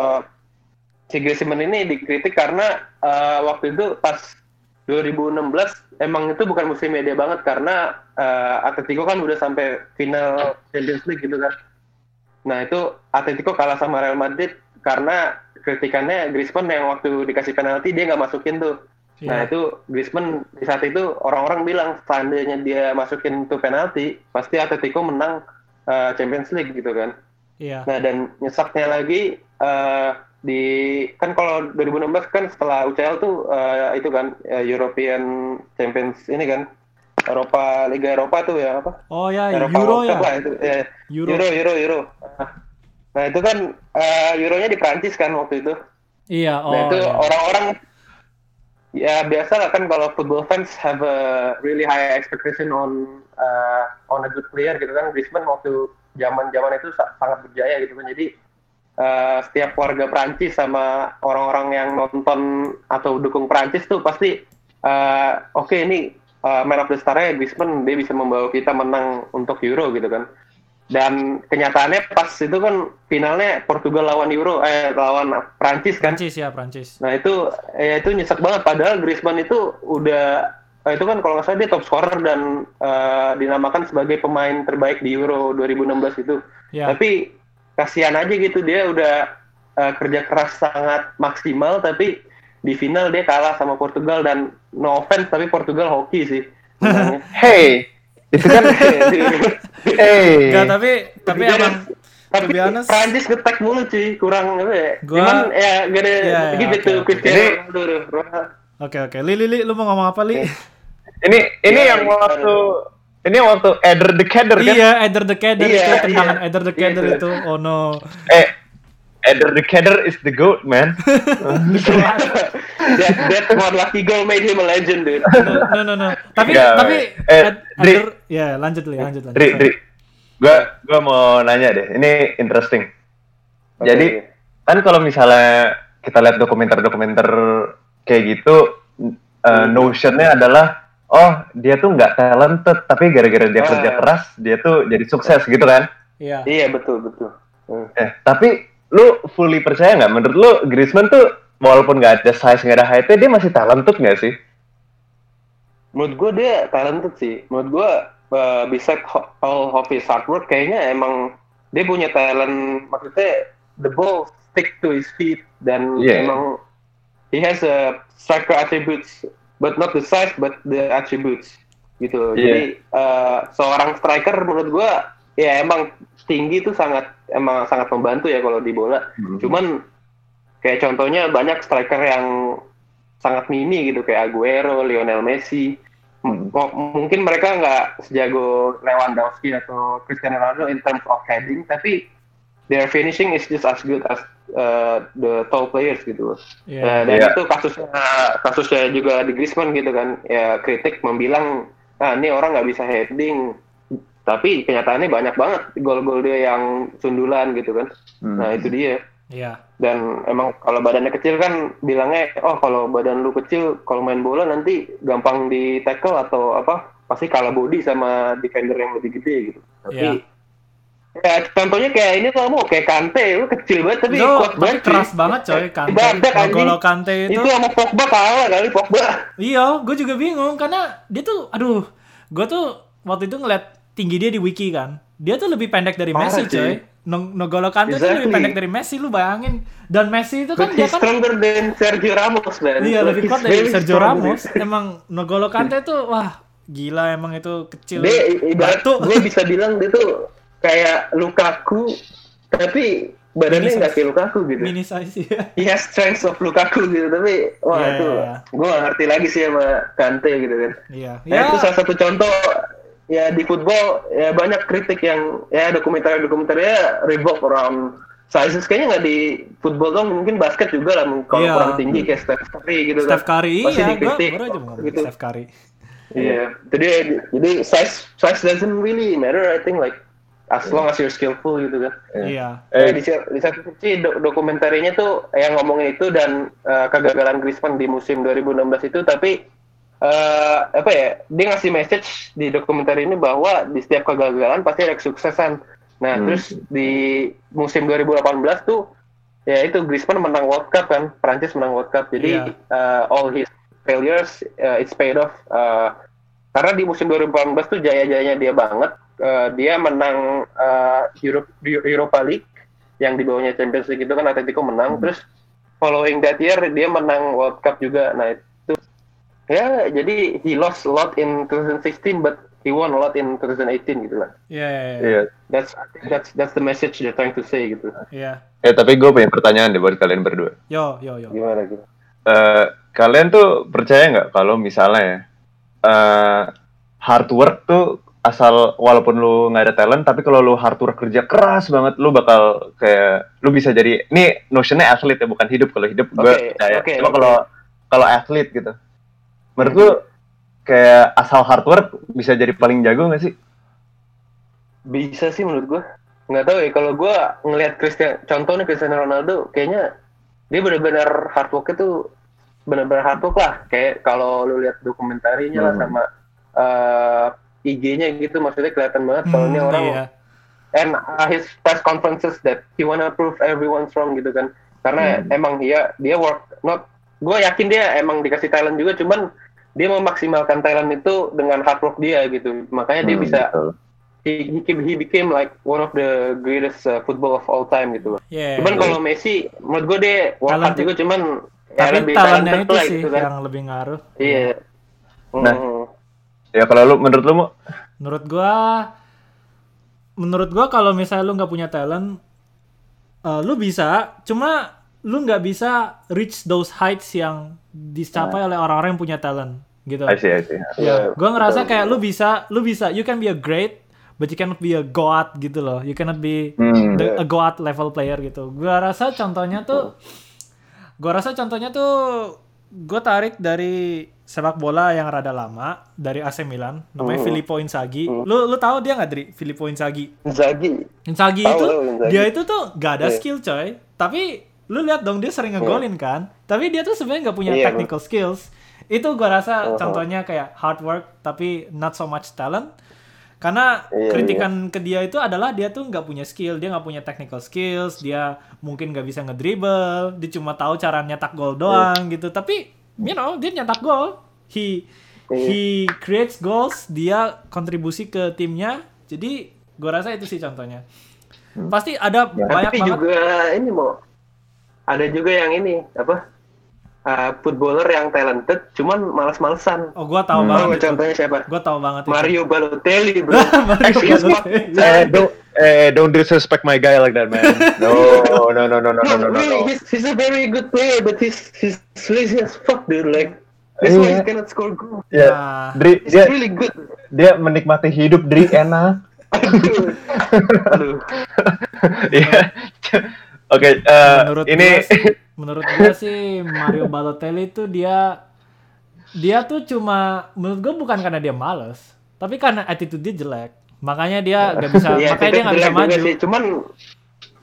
si Griezmann ini dikritik karena waktu itu pas 2016 emang itu bukan musimnya dia banget, karena Atletico kan udah sampai final Champions League gitu kan. Nah itu Atletico kalah sama Real Madrid karena kritikannya Griezmann yang waktu dikasih penalti dia nggak masukin tuh. Nah itu Griezmann di saat itu orang-orang bilang seandainya dia masukin tuh penalti pasti Atletico menang Champions League gitu kan. Iya. Nah dan nyesaknya lagi kan kalau 2016 kan setelah UCL tuh itu kan European Champions ini kan, Liga Eropa tuh ya apa? Oh ya, Eropa Euro ya. Lah, itu, Euro. Nah itu kan Euronya di Prancis kan waktu itu. Iya. Nah itu orang-orang ya biasa lah kan, kalau football fans have a really high expectation on a good player gitu kan. Griezmann waktu zaman itu sangat berjaya gitu kan. Jadi setiap warga Prancis sama orang-orang yang nonton atau dukung Prancis tuh pasti oke, ini man of the star-nya Griezmann, dia bisa membawa kita menang untuk Euro gitu kan. Dan kenyataannya pas itu kan finalnya Portugal lawan lawan Prancis kan. Prancis. Nah itu nyesek banget, padahal Griezmann itu udah itu kan kalau nggak salah dia top scorer dan dinamakan sebagai pemain terbaik di Euro 2016 itu. Yeah. Tapi kasihan aja gitu, dia udah kerja keras sangat maksimal, tapi di final dia kalah sama Portugal, dan no offense tapi Portugal hoki sih. Hey, itu kan Enggak, tapi emang tapi Prancis ngetek mulu cuy, kurang apa ya. Cuman ya gak ada gitu Cristiano Ronaldo. Oke. Li, lu mau ngomong apa, Li? Ini yang waktu Eder the Keder kan? Iya, Eder the Keder itu tendangan Eder the Keder itu. Oh no. Eder the Keder is the GOAT, man. That one lucky goal made him a legend, dude. No. Tapi Eder, ya lanjut. Dri. Gua mau nanya deh. Ini interesting. Okay. Jadi kan kalau misalnya kita lihat dokumenter kayak gitu, notionnya adalah dia tuh nggak talented, tapi gara-gara dia kerja keras dia tuh jadi sukses gitu kan? Iya betul. Tapi lu fully percaya nggak? Menurut lu Griezmann tuh walaupun nggak ada size, nggak ada height-nya, dia masih talented nggak sih? Menurut gue dia talented sih. Menurut gue besides all of his hard work, kayaknya emang dia punya talent. Maksudnya the ball stick to his feet, dan emang he has a striker attributes, but not the size, but the attributes gitu. Jadi seorang striker menurut gue ya emang tinggi itu sangat membantu ya kalau di bola. Cuman kayak contohnya banyak striker yang sangat mini gitu, kayak Aguero, Lionel Messi. Mungkin mereka nggak sejago Lewandowski atau Cristiano Ronaldo in terms of heading, tapi their finishing is just as good as the tall players gitu. Dan itu kasusnya juga di Griezmann gitu kan. Ya kritik membilang, ini orang nggak bisa heading, tapi kenyataannya banyak banget gol-gol dia yang sundulan gitu kan. Nah itu dia. Iya. Dan emang kalau badannya kecil kan bilangnya, oh kalau badan lu kecil, kalau main bola nanti gampang di tackle atau apa, pasti kalah body sama defender yang lebih gede gitu. Tapi ya contohnya kayak ini tuh mau kayak Kante, lu kecil banget tapi kuat banget. Keras banget coy Kante. Kalau Kante itu sama Pogba kalah kali Pogba. Iya, gue juga bingung karena dia tuh, aduh, gue tuh waktu itu ngeliat tinggi dia di wiki kan, dia tuh lebih pendek dari Messi coy. N'Golo Kante tuh lebih pendek dari Messi, lu bayangin. Dan Messi itu kan dia kan stronger than Sergio Ramos, man. Iya, lebih kuat dari Sergio Ramos. Emang N'Golo Kante tuh wah, gila emang itu kecil. Dia ibarat gue bisa bilang dia tuh kayak Lukaku tapi badannya nggak kayak Lukaku gitu. Mini size ya. He has strength of Lukaku gitu, tapi wah itu gue gak ngerti lagi sih sama Kante gitu kan. Iya. Nah, itu salah satu contoh ya di football ya banyak kritik yang ya dokumenter-dokumenternya revolve around sizes, kayaknya nggak di football dong, mungkin basket juga lah kalau kurang tinggi kayak Steph Curry gitu Steph Curry pasti iya, dikritik baru aja mau gitu. Steph Curry. Iya, jadi size doesn't really matter, I think, like as long as you're skillful gitu kan. Iya. Di satu sisi dokumentarnya tuh yang ngomongin itu dan kegagalan Griezmann di musim 2016 itu, tapi apa ya, dia ngasih message di dokumenter ini bahwa di setiap kegagalan pasti ada kesuksesan. Nah, terus di musim 2018 tuh ya itu Griezmann menang World Cup kan, Prancis menang World Cup. Jadi all his failures it's paid off. Karena di musim 2018 tuh jaya-jayanya dia banget. Dia menang Europa League yang di bawahnya Champions League itu kan Atletico menang. Terus following that year dia menang World Cup juga. Nah, itu ya jadi he lost a lot in 2016 but he won a lot in 2018 gitu lah. Iya. That's the message they're trying to say gitu. Iya. Tapi gue punya pertanyaan deh buat kalian berdua. Yo. Gimana? Kalian tuh percaya nggak kalau misalnya hard work tuh asal walaupun lu nggak ada talent, tapi kalau lu hard work kerja keras banget, lu bakal kayak lu bisa jadi, ini notionnya atlet ya, bukan hidup. Kalau hidup gue percaya. Cuma kalau atlet gitu, menurut lu kayak asal hard work bisa jadi paling jago nggak sih? Bisa sih menurut gue. Nggak tahu ya, kalau gue ngelihat contohnya Cristiano Ronaldo, kayaknya dia benar-benar hard work itu benar-benar hard work lah. Kayak kalau lu lihat dokumentarinya lah sama IG-nya gitu, maksudnya kelihatan banget kalau ini orang and his press conferences that he wanna prove everyone's wrong gitu kan. Karena emang dia work not, gue yakin dia emang dikasih talent juga, cuman dia memaksimalkan talent itu dengan hard work dia gitu. Makanya dia bisa he became like one of the greatest football of all time gitu. Cuman kalau Messi menurut gue dia work hard juga, cuman ya lebih talentnya itu sih gitu kan, yang lebih ngaruh. Iya. Ya kalau lu, menurut lu mau? Menurut gua kalau misalnya lu nggak punya talent, lu bisa, cuma lu nggak bisa reach those heights yang dicapai oleh orang-orang yang punya talent gitu. I see. Ya, gua ngerasa kayak lu bisa, you can be a great, but you cannot be a god gitu loh. You cannot be a god level player gitu. Gua rasa contohnya tuh gue tarik dari sepak bola yang rada lama, dari AC Milan, namanya Filippo Inzaghi. Lu tahu dia nggak, Dri? Filippo Inzaghi itu dia itu tuh gak ada skill coy, tapi lu lihat dong dia sering ngegolin kan, tapi dia tuh sebenarnya nggak punya technical skills. Itu gue rasa contohnya kayak hard work tapi not so much talent. Karena kritikan ke dia itu adalah dia tuh nggak punya skill, dia nggak punya technical skills, dia mungkin nggak bisa ngedribble, dia cuma tahu cara nyetak gol doang gitu. Tapi dia nyetak gol, he creates goals, dia kontribusi ke timnya. Jadi gue rasa itu sih contohnya. Pasti ada banyak tapi banget. Juga ini ada juga yang ini apa? Footballer yang talented, cuman malas-malesan. Oh, gua tahu banget. Contohnya siapa? Gua tahu banget. Mario Balotelli, bro. Don't disrespect my guy like that, man. No. Really, he's a very good player, but he's lazy as fuck, dude. Like, that's why he cannot score goals. Yeah, Dri, he's really good. Dia menikmati hidup, Dri, enak. Aduh. Iya. Oke, ini menurut gue sih Mario Balotelli itu dia tuh cuma, menurut gue bukan karena dia malas, tapi karena attitude dia jelek. Makanya dia nggak bisa, makanya dia nggak bisa maju. Sih. Cuman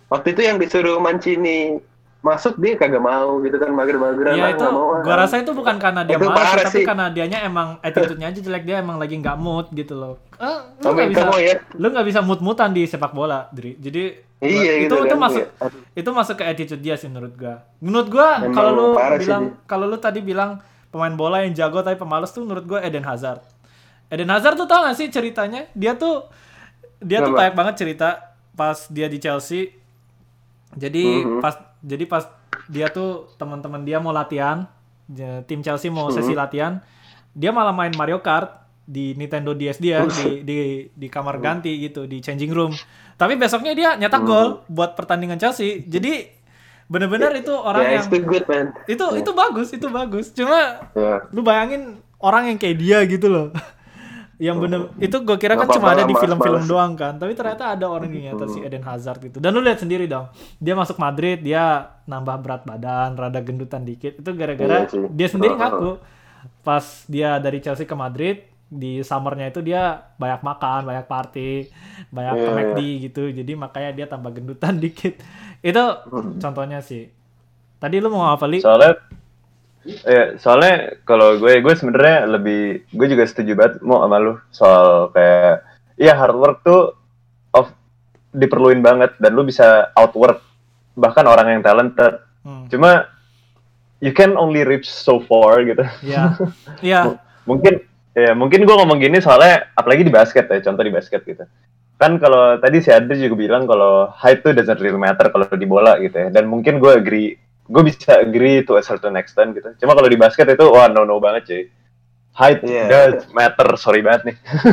Waktu itu yang disuruh Mancini masuk dia kagak mau gitu kan, mager-mageran. Iya itu, gua rasa itu bukan karena dia malas, tapi sih. karena dianya emang attitude-nya aja jelek, dia emang lagi nggak mood gitu loh. Lu nggak bisa mood-moodan di sepak bola, Dri. Jadi iya, itu masuk ke attitude dia sih menurut gua. Menurut gua kalau lu tadi bilang pemain bola yang jago tapi pemalas tuh menurut gua Eden Hazard. Eden Hazard tuh tau gak sih ceritanya? Dia tuh banyak banget cerita pas dia di Chelsea. Jadi pas dia tuh teman-teman dia mau latihan, tim Chelsea mau sesi latihan, dia malah main Mario Kart di Nintendo DS dia di kamar ganti gitu, di changing room. Tapi besoknya dia nyetak gol buat pertandingan Chelsea. Jadi bener-bener itu orang yang itu bagus. Cuma lu bayangin orang yang kayak dia gitu loh. Yang bener itu gue kira kan cuma ada di film-film doang kan, tapi ternyata ada orang yang nyata si Eden Hazard gitu. Dan lu lihat sendiri dong, dia masuk Madrid, dia nambah berat badan, rada gendutan dikit, itu gara-gara dia sendiri ngaku pas dia dari Chelsea ke Madrid di summernya itu dia banyak makan, banyak party, banyak ke McD gitu, jadi makanya dia tambah gendutan dikit. Itu contohnya sih. Tadi lu mau apa, Li? Soalnya kalau gue sebenarnya gue juga setuju banget mau sama lu soal kayak hard work tuh diperluin banget dan lu bisa outwork bahkan orang yang talented. Cuma you can only reach so far gitu. Iya. Mungkin gue ngomong gini soalnya apalagi di basket ya, contoh di basket gitu. Kan kalau tadi si Adri juga bilang kalau height tuh doesn't really matter kalau di bola gitu ya. Dan mungkin gue bisa agree to a certain extent gitu. Cuma kalau di basket itu no banget cuy. Height does matter, sorry banget nih.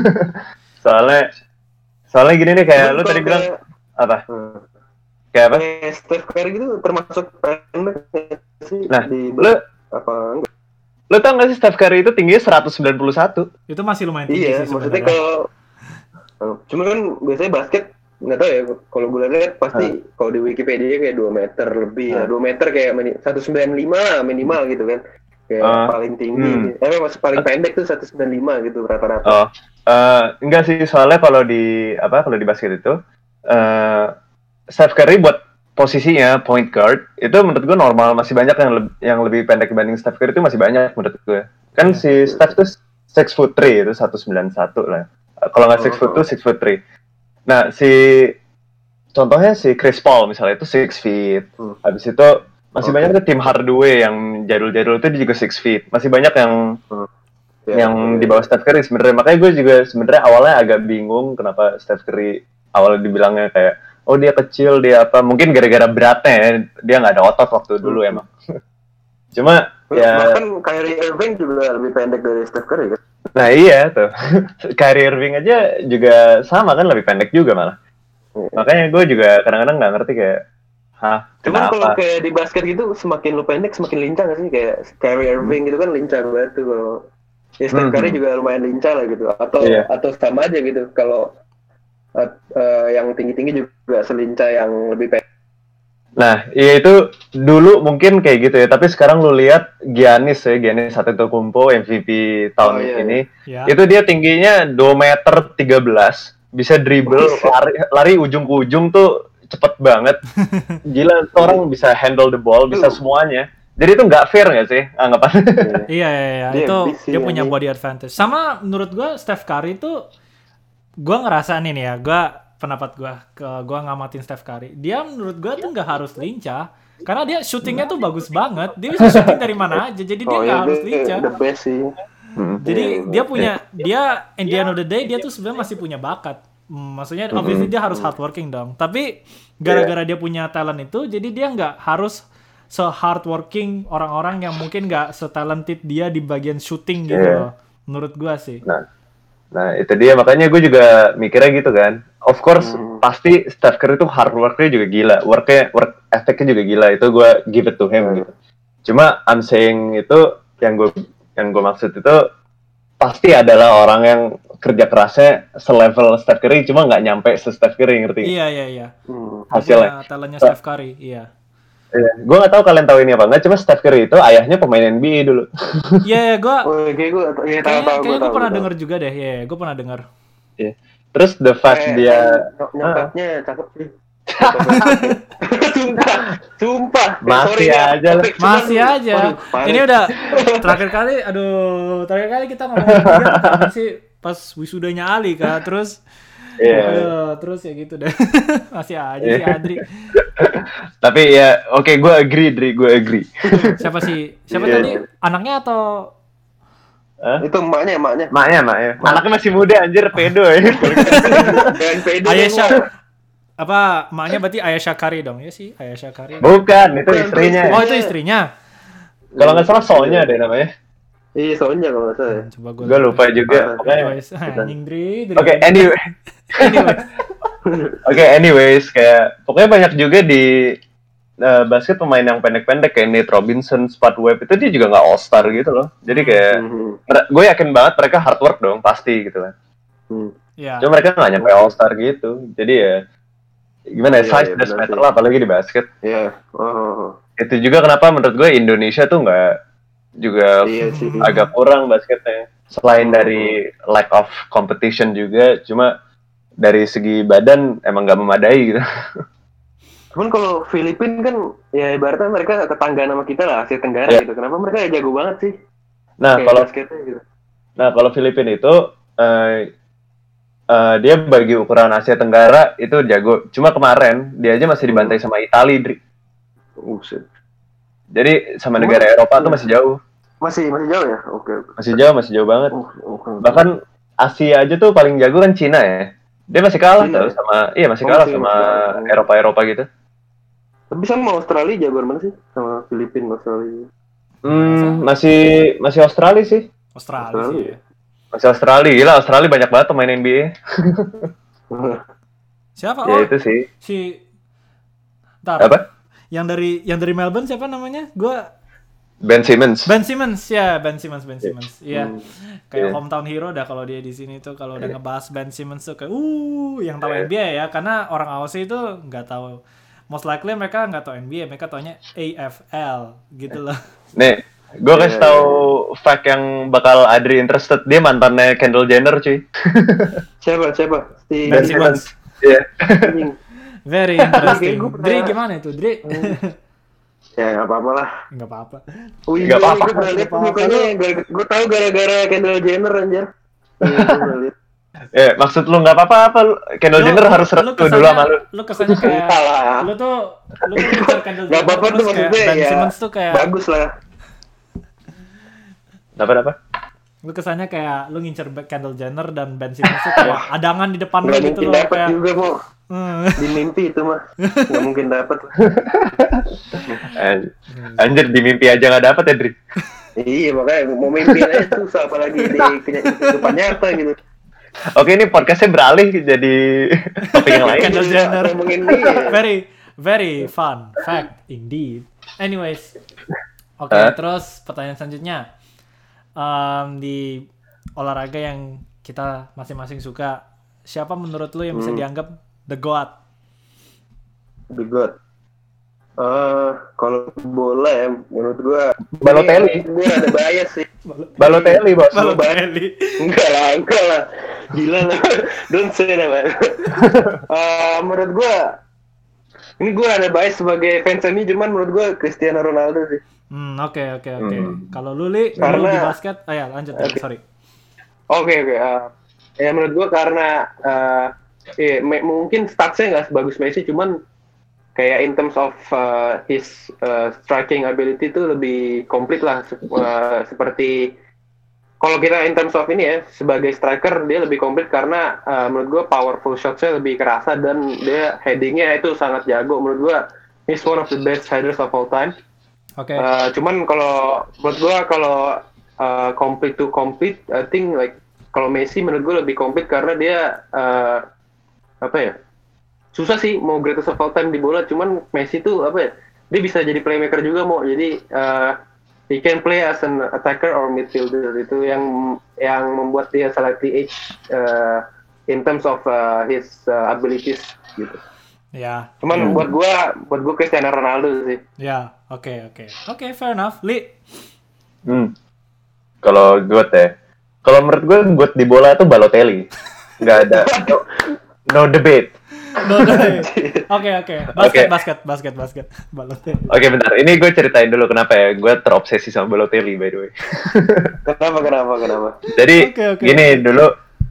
soalnya gini nih kayak lu tadi bilang apa? Kayak apa? Steph Curry gitu termasuk pendek sih. Nah, lu apa enggak? Lu tau gak sih Steph Curry itu tingginya 191? Itu masih lumayan tinggi sih sebenarnya. Cuma kan biasanya basket nggak tahu ya, kalau gue lihat pasti kalau di Wikipedia kayak 2 meter lebih 2 meter kayak 195 minimal gitu kan, kayak paling tinggi. Masih paling pendek tuh 195 gitu rata-rata. Enggak sih, soalnya kalau di basket itu Steph Curry buat posisinya point guard itu menurut gue normal, masih banyak yang lebih pendek dibanding Steph Curry, itu masih banyak menurut gue. Kan si Steph tuh 6'3" itu 191 lah. Kalau nggak 6'2", 6'3". Nah, contohnya si Chris Paul misalnya itu 6 feet. Habis itu masih banyak tuh tim Hardaway yang jadul-jadul itu dia juga 6 feet. Masih banyak yang di bawah Steph Curry sebenarnya. Makanya gue juga sebenarnya awalnya agak bingung kenapa Steph Curry awalnya dibilangnya kayak dia kecil, dia apa. Mungkin gara-gara beratnya ya, dia nggak ada otot waktu dulu emang. Cuma bahkan Kyrie Irving juga lebih pendek dari Steph Curry kan. Nah iya tuh, Kyrie Irving aja juga sama kan, lebih pendek juga malah. Makanya gue juga kadang-kadang nggak ngerti kayak, Cuman kalau kayak di basket gitu, semakin lu pendek semakin lincah nggak sih? Kayak Kyrie Irving gitu kan lincah banget tuh. Kalau Steph Curry juga lumayan lincah lah gitu. Atau sama aja gitu. Kalau yang tinggi-tinggi juga selincah yang lebih pendek. Nah, iya itu dulu mungkin kayak gitu ya, tapi sekarang lu lihat Giannis Antetokounmpo MVP tahun ini, itu dia tingginya 2 meter 13, bisa dribble, lari ujung ke ujung tuh cepet banget. Gila, orang bisa handle the ball, bisa semuanya. Jadi itu nggak fair nggak sih anggapan? Iya, itu dia punya body advantage. Sama menurut gue Steph Curry itu, gue ngerasa nih ya, pendapat gue ngamatin Steph Curry, dia menurut gue tuh nggak harus lincah karena dia syutingnya tuh bagus banget, dia bisa syuting dari mana aja, jadi dia nggak harus lincah. The best sih. Jadi dia in the end of the day dia tuh sebenarnya masih punya bakat. Maksudnya obviously dia harus hardworking dong, tapi gara-gara dia punya talent itu, jadi dia nggak harus se-hardworking orang-orang yang mungkin nggak se-talented dia di bagian shooting gitu loh, menurut gue sih. Nah itu dia, makanya gue juga mikirnya gitu kan. Of course pasti Steph Curry itu hard work-nya juga gila, work ethic-nya juga gila, itu gue give it to him gitu. Cuma I'm saying itu yang gue maksud itu pasti adalah orang yang kerja kerasnya selevel Steph Curry, cuma nggak nyampe se Steph Curry, ngerti? Iya. Hasilnya. Talentnya Steph Curry, iya. Gue nggak tahu kalian tahu ini apa enggak, cuma Steph Curry itu ayahnya pemain NBA dulu. Iya, gue pernah tahu. dengar juga deh, gue pernah dengar. Terus the fact dia nyokapnya cakep sih. Sumpah. Masih aja. Masih aja. Ini udah terakhir kali kita ngomong dia sih pas wisudanya Ali kan, terus terus ya gitu deh. Masih aja si Adri. Tapi ya oke, gue agree. Siapa tadi? Anaknya atau itu emaknya. Anaknya masih muda anjir, pedo ya. Ayesha. Apa emaknya berarti Ayesha Kari dong ya sih? Ayesha Kari. Bukan, itu istrinya. Oh, itu istrinya. Kalau nggak salah Sonya deh namanya. Iya, Sonya kalau nggak salah. Coba gue lupa juga. Anyways, kayak pokoknya banyak juga di basket pemain yang pendek-pendek kayak Nate Robinson, Spud Webb itu dia juga nggak all star gitu loh. Jadi kayak gue yakin banget mereka hard work dong pasti gitu kan. Cuma mereka nggak nyampe all star gitu. Jadi ya gimana ya, size does matter lah apalagi di basket. Itu juga kenapa menurut gue Indonesia tuh nggak juga agak kurang basketnya. Selain dari lack of competition juga, cuma dari segi badan emang nggak memadai gitu. Cuman kalau Filipina kan ya ibaratnya mereka tetangga sama kita lah, Asia Tenggara gitu. Kenapa mereka jago banget sih? Nah kalau Filipina itu dia bagi ukuran Asia Tenggara itu jago. Cuma kemarin dia aja masih dibantai sama Italia, Dri. Jadi sama negara Eropa tuh masih jauh. Masih jauh ya? Oke. Masih jauh banget. Bahkan Asia aja tuh paling jago kan Cina ya. Dia masih kalah sama Eropa gitu. Tapi sama Australia jagoan mana sih? Sama Filipina, Australia. Masih Australia sih. Australia sih ya. Masih Australia. Gila, Australia banyak banget pemain NBA. Siapa? Ya itu sih. Apa? Yang dari Melbourne siapa namanya? Ben Simmons. Ben Simmons. Iya. Kayak hometown hero dah kalau dia di sini tuh, kalau udah ngebahas Ben Simmons tuh kayak yang tahu NBA ya, karena orang Aussie itu nggak tahu. Most likely mereka nggak tahu NBA, mereka taunya AFL gitu loh. Nih, gue kasih tahu fact yang bakal Adri interested. Dia mantannya Kendall Jenner, cuy. Siapa? Ben Simmons. Iya. Very interesting. Dri gimana itu, Dri? Ya nggak apa-apa lah. Nggak apa-apa. Nggak apa-apa. Gue tahu gara-gara Kendall Jenner anjir. Maksud lu nggak apa-apa, Kendall Jenner harus restu dulu sama lu. Lu kesannya kayak lu tuh Kendall Jenner. Nggak apa-apa tuh maksudnya Ben Simmons tuh kayak bagus lah. Apa? Lu kesannya kayak lu ngincer Kendall Jenner dan Ben Simmons tuh kayak adangan di depan lu gitu loh, kayak juga mau. Di mimpi itu mah nggak mungkin dapat. Anjir, di mimpi aja nggak dapat ya, Dri. Iya, makanya mau mimpi aja susah, apalagi di kehidupan nyata gitu. Oke, ini podcastnya beralih jadi topik yang lain. Kendall Jenner. Very, very fun fact indeed. Anyways, oke, terus pertanyaan selanjutnya, di olahraga yang kita masing-masing suka, siapa menurut lu yang bisa dianggap the GOAT? The GOAT. Kalau bola ya, menurut gua Balotelli. Gue ada bias sih. Balotelli, bos. Balotelli. Enggak lah. Gila lah. Don't say that, man. Menurut gua, ini gua ada bias sebagai fans MU, cuman menurut gua Cristiano Ronaldo sih. Oke. Kalau lu di basket, lanjut. Sorry. Oke. Ya menurut gua karena mungkin statsnya nggak sebagus Messi, cuman kayak in terms of his striking ability itu lebih komplit lah, seperti kalau kita in terms of ini ya, sebagai striker dia lebih komplit karena menurut gue powerful shotsnya lebih kerasa dan dia headingnya itu sangat jago. Menurut gue he's one of the best headers of all time. Oke. Cuman kalau menurut gue kalau complete to complete, I think like kalau Messi menurut gue lebih komplit karena dia susah sih mau greatest of all time di bola, cuman Messi tuh dia bisa jadi playmaker juga jadi he can play as an attacker or midfielder, itu yang membuat dia slightly edge in terms of his abilities gitu. Ya. Cuman buat gua Cristiano Ronaldo sih. Ya, oke, fair enough. Li. Kalau kalau menurut gue di bola tuh Balotelli. Nggak ada no debate. Basket. Balotelli. Oke, bentar. Ini gue ceritain dulu kenapa ya gue terobsesi sama Balotelli, by the way. Kenapa? Jadi gini, dulu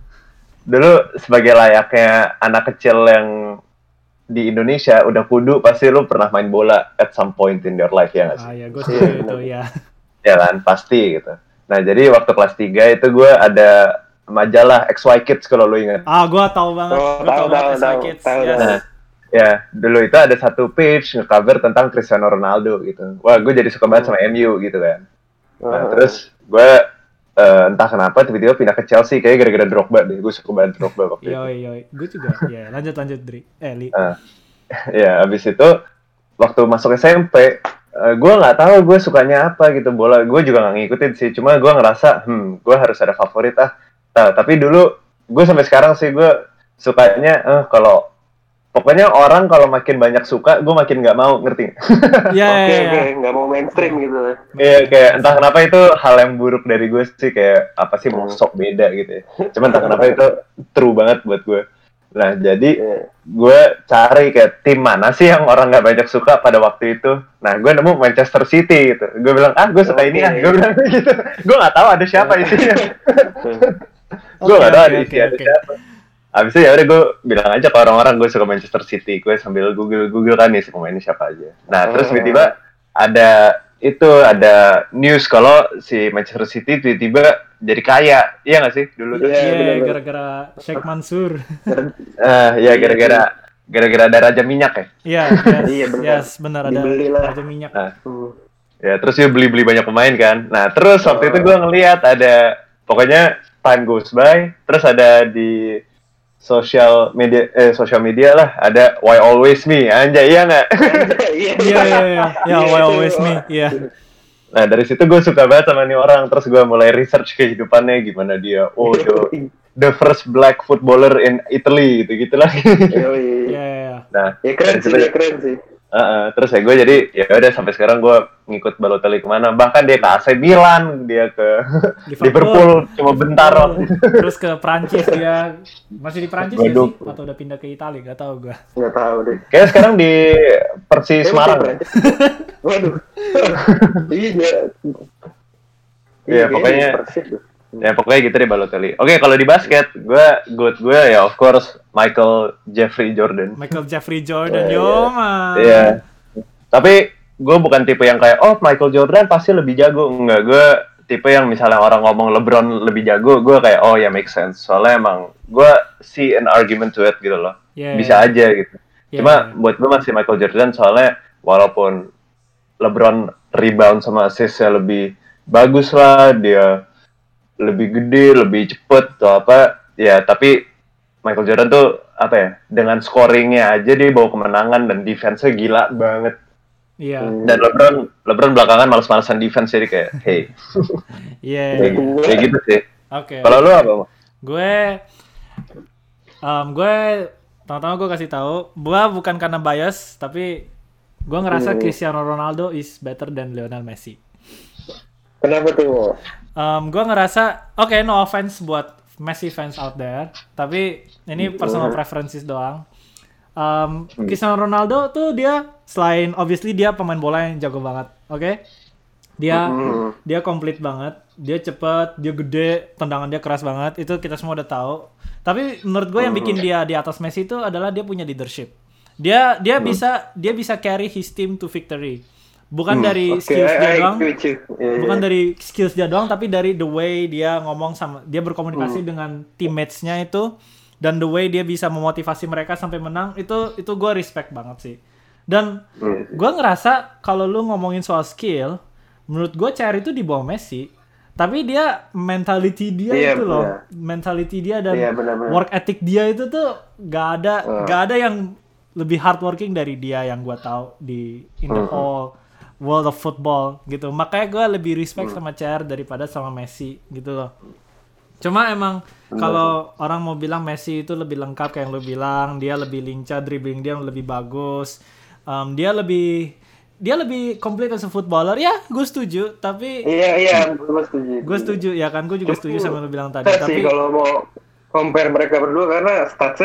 sebagai layaknya anak kecil yang di Indonesia udah kudu pasti lu pernah main bola at some point in your life, ya nggak sih? Ya, gue setuju itu ya. Ya kan, pasti gitu. Nah, jadi waktu kelas 3 itu gue ada majalah XY Kids kalau lu ingat. Gue tahu banget. XY Kids. Nah, ya, dulu itu ada satu page nge-cover tentang Cristiano Ronaldo gitu. Wah, gue jadi suka banget sama MU gitu kan. Nah, terus gue entah kenapa tiba-tiba pindah ke Chelsea, kayak gara-gara Drogba deh. Gue suka banget Drogba waktu itu. Gue juga. Ya, lanjut Dri. Li. Ya, abis itu waktu masuk SMP, gue nggak tahu gue sukanya apa gitu bola. Gue juga nggak ngikutin sih. Cuma gue ngerasa, gue harus ada favorit ah. Nah, tapi dulu gue sampai sekarang sih gue sukanya kalau pokoknya orang kalau makin banyak suka, gue makin nggak mau, ngerti? Oke, nggak mau mainstream gitu. Iya, kayak entah kenapa itu hal yang buruk dari gue sih, kayak apa sih mau sok beda gitu ya. Cuman entah kenapa itu true banget buat gue. Nah, jadi gue cari kayak tim mana sih yang orang nggak banyak suka pada waktu itu. Nah, gue nemu Manchester City gitu. Gue bilang, gue suka ini ya. Gue bilang gitu. Gue nggak tahu ada siapa isinya. Gue nggak tahu ada siapa. Abis itu ya udah gue bilang aja ke orang-orang gue suka Manchester City. Gue sambil Google kan nih pemainnya siapa aja. Nah, terus tiba-tiba ada news kalau si Manchester City tiba-tiba jadi kaya. Iya nggak sih dulu tuh? Iya, gara-gara Sheikh Mansur. Ya gara-gara ada raja minyak ya. Iya, benar ada raja minyak. Ya, terus dia beli banyak pemain kan. Nah, terus waktu itu gue ngelihat ada pokoknya time goes by, terus ada di social media lah ada Why Always Me, anjay, iya nggak? Iya, Why Always Me, iya. Nah, dari situ gue suka banget sama nih orang, terus gue mulai research kehidupannya gimana dia. The first black footballer in Italy gitu-gitulah. Iya. Nah, keren sih. Terus ya gue jadi ya udah sampai sekarang gue ngikut Balotelli kemana, bahkan dia ke AC Milan, dia ke Liverpool cuma bentar. Terus ke Prancis, dia masih di Prancis ya sih atau udah pindah ke Italia, nggak tahu gue. Nggak tahu deh. Kayak sekarang di Persis Semarang. Waduh. Iya pokoknya. Ya pokoknya gitu deh Balotelli. Oke, kalau di basket, gue ya of course Michael Jeffrey Jordan. Iya. Tapi gue bukan tipe yang kayak Michael Jordan pasti lebih jago. Enggak, gue tipe yang misalnya orang ngomong LeBron lebih jago, gue kayak ya make sense. Soalnya emang gue see an argument to it gitu loh. Bisa aja gitu. Cuma buat gue masih Michael Jordan, soalnya walaupun LeBron rebound sama assist-nya lebih bagus lah, dia lebih gede, lebih cepet atau apa ya, tapi Michael Jordan tuh apa ya, dengan scoringnya aja dia bawa kemenangan dan defense-nya gila banget. Iya. Dan LeBron belakangan males-malesan defense, jadi kayak hey. Iya. Kayak gitu sih. Oke. Kalau lu apa? Gue pertama gue kasih tahu, gue bukan karena bias, tapi gue ngerasa Cristiano Ronaldo is better than Lionel Messi. Kenapa tuh? Gue ngerasa, no offense buat Messi fans out there, tapi ini personal preferences doang. Cristiano Ronaldo tuh dia selain obviously dia pemain bola yang jago banget, oke? Dia komplit banget, dia cepat, dia gede, tendangan dia keras banget, itu kita semua udah tahu. Tapi menurut gue yang bikin dia di atas Messi itu adalah dia punya leadership. Dia bisa carry his team to victory. Bukan dari skills dia doang, bukan dari skills dia doang, tapi dari the way dia ngomong sama, dia berkomunikasi dengan teammates-nya itu, dan the way dia bisa memotivasi mereka sampai menang, itu gue respect banget sih. Dan gue ngerasa kalau lu ngomongin soal skill, menurut gue CR itu di bawah Messi, tapi dia mentality dia mentality dia dan work ethic dia itu tuh gak ada yang lebih hardworking dari dia yang gue tahu di in the whole world of football gitu. Makanya gue lebih respect sama CR daripada sama Messi gitu loh. Cuma emang kalau orang mau bilang Messi itu lebih lengkap kayak yang lo bilang, dia lebih lincah, dribbling dia lebih bagus, dia lebih complete as a footballer, ya gue setuju. Tapi gue setuju ya kan, gue juga setuju sama lo bilang tadi. Tapi kalau mau compare mereka berdua, karena statsnya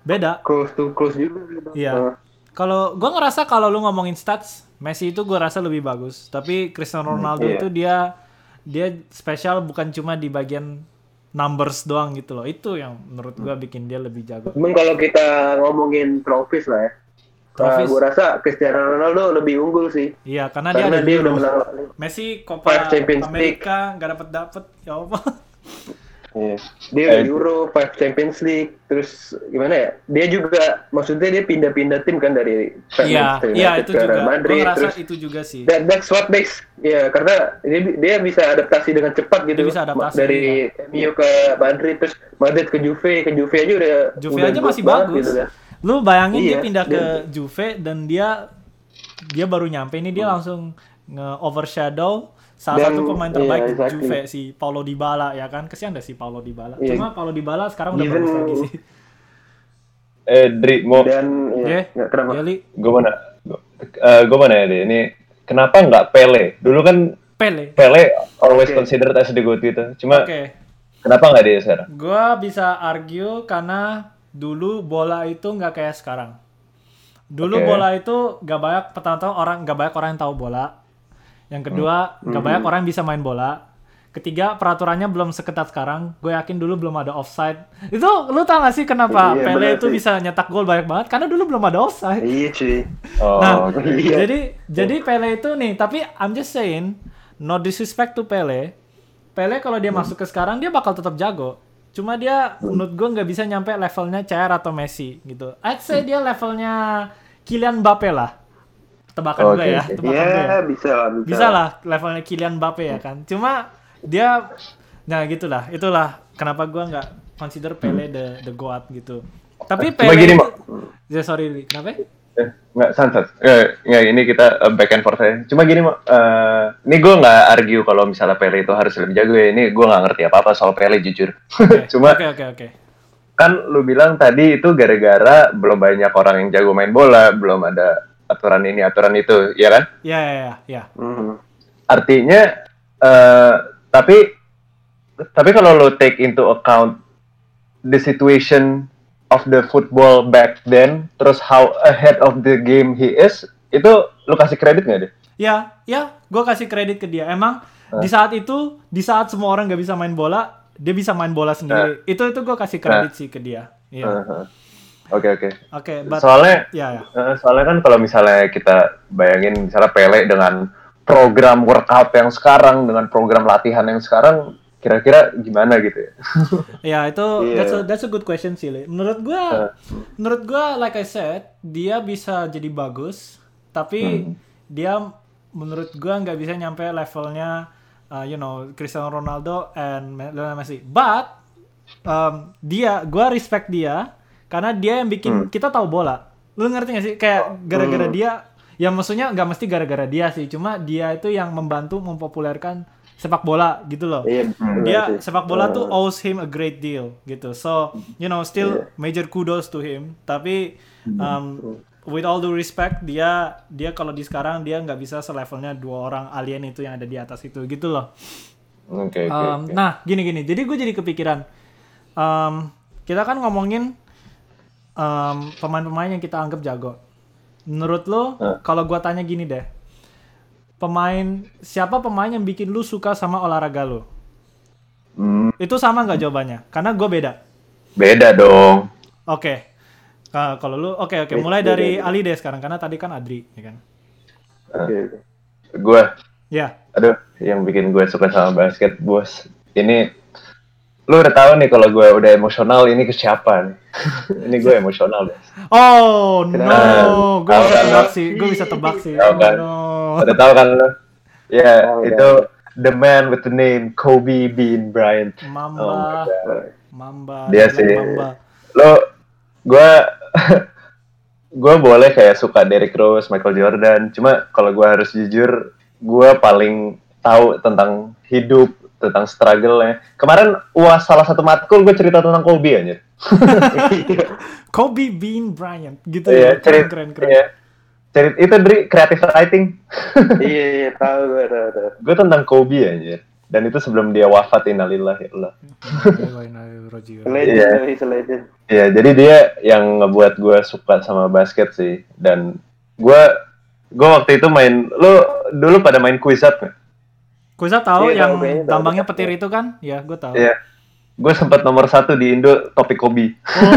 beda. Close to close juga. Iya. Kalau gue ngerasa kalau lu ngomongin stats, Messi itu gue rasa lebih bagus. Tapi Cristiano Ronaldo itu dia spesial bukan cuma di bagian numbers doang gitu loh. Itu yang menurut gue bikin dia lebih jago. Cuman kalau kita ngomongin trophies lah ya. Gue rasa Cristiano Ronaldo lebih unggul sih. Iya, karena dia ada udah menang. Messi Copa America nggak dapet ya apa? Yeah. Dia udah Euro, 5 Champions League, terus gimana ya? Dia juga, maksudnya dia pindah-pindah tim kan dari Manchester United ke Real Madrid. Gue ngerasa itu juga sih. That's what makes, ya karena dia bisa adaptasi dengan cepat gitu. Dia bisa adaptasi, dari MU ke Madrid, terus Madrid ke Juve aja udah. Juve aja masih bagus. Gitu, kan? Lu bayangin dia pindah ke Juve dan dia baru nyampe ini dia langsung nge-overshadow salah satu pemain terbaik Juve si Paulo Dybala ya kan. Kesian deh si Paulo Dybala. Cuma Paulo Dybala sekarang udah bagus lagi sih. Dri mau kenapa? Gue mana ya deh ini kenapa nggak Pele? Dulu kan Pele always considered as the GOAT gitu. Cuma kenapa nggak dia sekarang? Gue bisa argue karena dulu bola itu nggak kayak sekarang. Dulu bola itu nggak banyak orang yang tahu bola. Yang kedua, nggak banyak orang yang bisa main bola. Ketiga, peraturannya belum seketat sekarang. Gue yakin dulu belum ada offside. Itu, lu tau gak sih kenapa Pele itu bisa nyetak gol banyak banget? Karena dulu belum ada offside. Iya cuy. Jadi Pele itu nih, tapi I'm just saying, no disrespect to Pele. Pele kalau dia masuk ke sekarang, dia bakal tetap jago. Cuma dia, menurut gue nggak bisa nyampe levelnya CR atau Messi gitu. I'd say dia levelnya Kylian Mbappe lah. Tebakan gue ya. Bisa lah levelnya Kylian Mbappe ya kan. Cuma dia, nah gitulah. Itulah kenapa gue nggak consider Pele the GOAT gitu. Tapi Pele gini, sorry, kenapa? Nggak, santai. Ini kita back and forth aja. Cuma gini, ini gue nggak argue kalau misalnya Pele itu harus lebih jago ya. Ini gue nggak ngerti apa-apa soal Pele jujur. Cuma kan lu bilang tadi itu gara-gara belum banyak orang yang jago main bola, belum ada aturan ini, aturan itu, ya kan? Iya. Artinya, tapi kalau lo take into account the situation of the football back then, terus how ahead of the game he is, itu lo kasih kredit nggak deh? Ya, gue kasih kredit ke dia. Emang di saat semua orang nggak bisa main bola, dia bisa main bola sendiri. Itu gue kasih kredit sih ke dia. Iya. Oke. Soalnya kan kalau misalnya kita bayangin misalnya Pele dengan program workout yang sekarang, dengan program latihan yang sekarang, kira-kira gimana gitu ya? Ya itu that's a good question sih. Menurut gue like I said, dia bisa jadi bagus, tapi dia menurut gue nggak bisa nyampe levelnya Cristiano Ronaldo and Lionel Messi. But gue respect dia. Karena dia yang bikin kita tahu bola. Lu ngerti gak sih? Kayak gara-gara dia, ya maksudnya nggak mesti gara-gara dia sih. Cuma dia itu yang membantu mempopulerkan sepak bola gitu loh. Dia sepak bola tuh owes him a great deal gitu. So, still major kudos to him. Tapi with all due respect, dia kalau di sekarang dia nggak bisa selevelnya dua orang alien itu yang ada di atas itu gitu loh. Okay. Nah, gini. Jadi gue jadi kepikiran. Kita kan ngomongin pemain-pemain yang kita anggap jago. Menurut lo, kalau gua tanya gini deh, siapa pemain yang bikin lu suka sama olahraga lo? Itu sama nggak jawabannya? Karena gua beda. Beda dong. Oke. Kalau lu, oke. Mulai dari Ali deh sekarang, karena tadi kan Adri, ya kan? Gua. Ya. Aduh, yang bikin gue suka sama basket, bos. Ini lu udah tahu nih kalau gue udah emosional ini ke siapa nih? Ini gue emosional deh. Oh no, gue bisa tebak sih. Tahu kan? Udah tahu kan lu? Ya, itu the man with the name Kobe Bean Bryant. Mamba. Dia sih. Gue boleh kayak suka Derrick Rose, Michael Jordan. Cuma kalau gue harus jujur, gue paling tahu tentang hidup, tentang struggle-nya. Kemarin salah satu matkul gue cerita tentang Kobe aja. Kobe Bean Bryant gitu ya. Keren. Iya. Itu dari creative writing. Iya, tahu gue. Gue tentang Kobe aja. Dan itu sebelum dia wafat, innalillahi Allah. Legend. Iya, jadi dia yang ngebuat gue suka sama basket sih. Dan gue waktu itu main, lo dulu pada main Quizat nggak? Quizat tahu yang tambangnya petir itu kan? Ya, gue tahu. Iya. Gue sempat nomor 1 di Indo topik Kobe.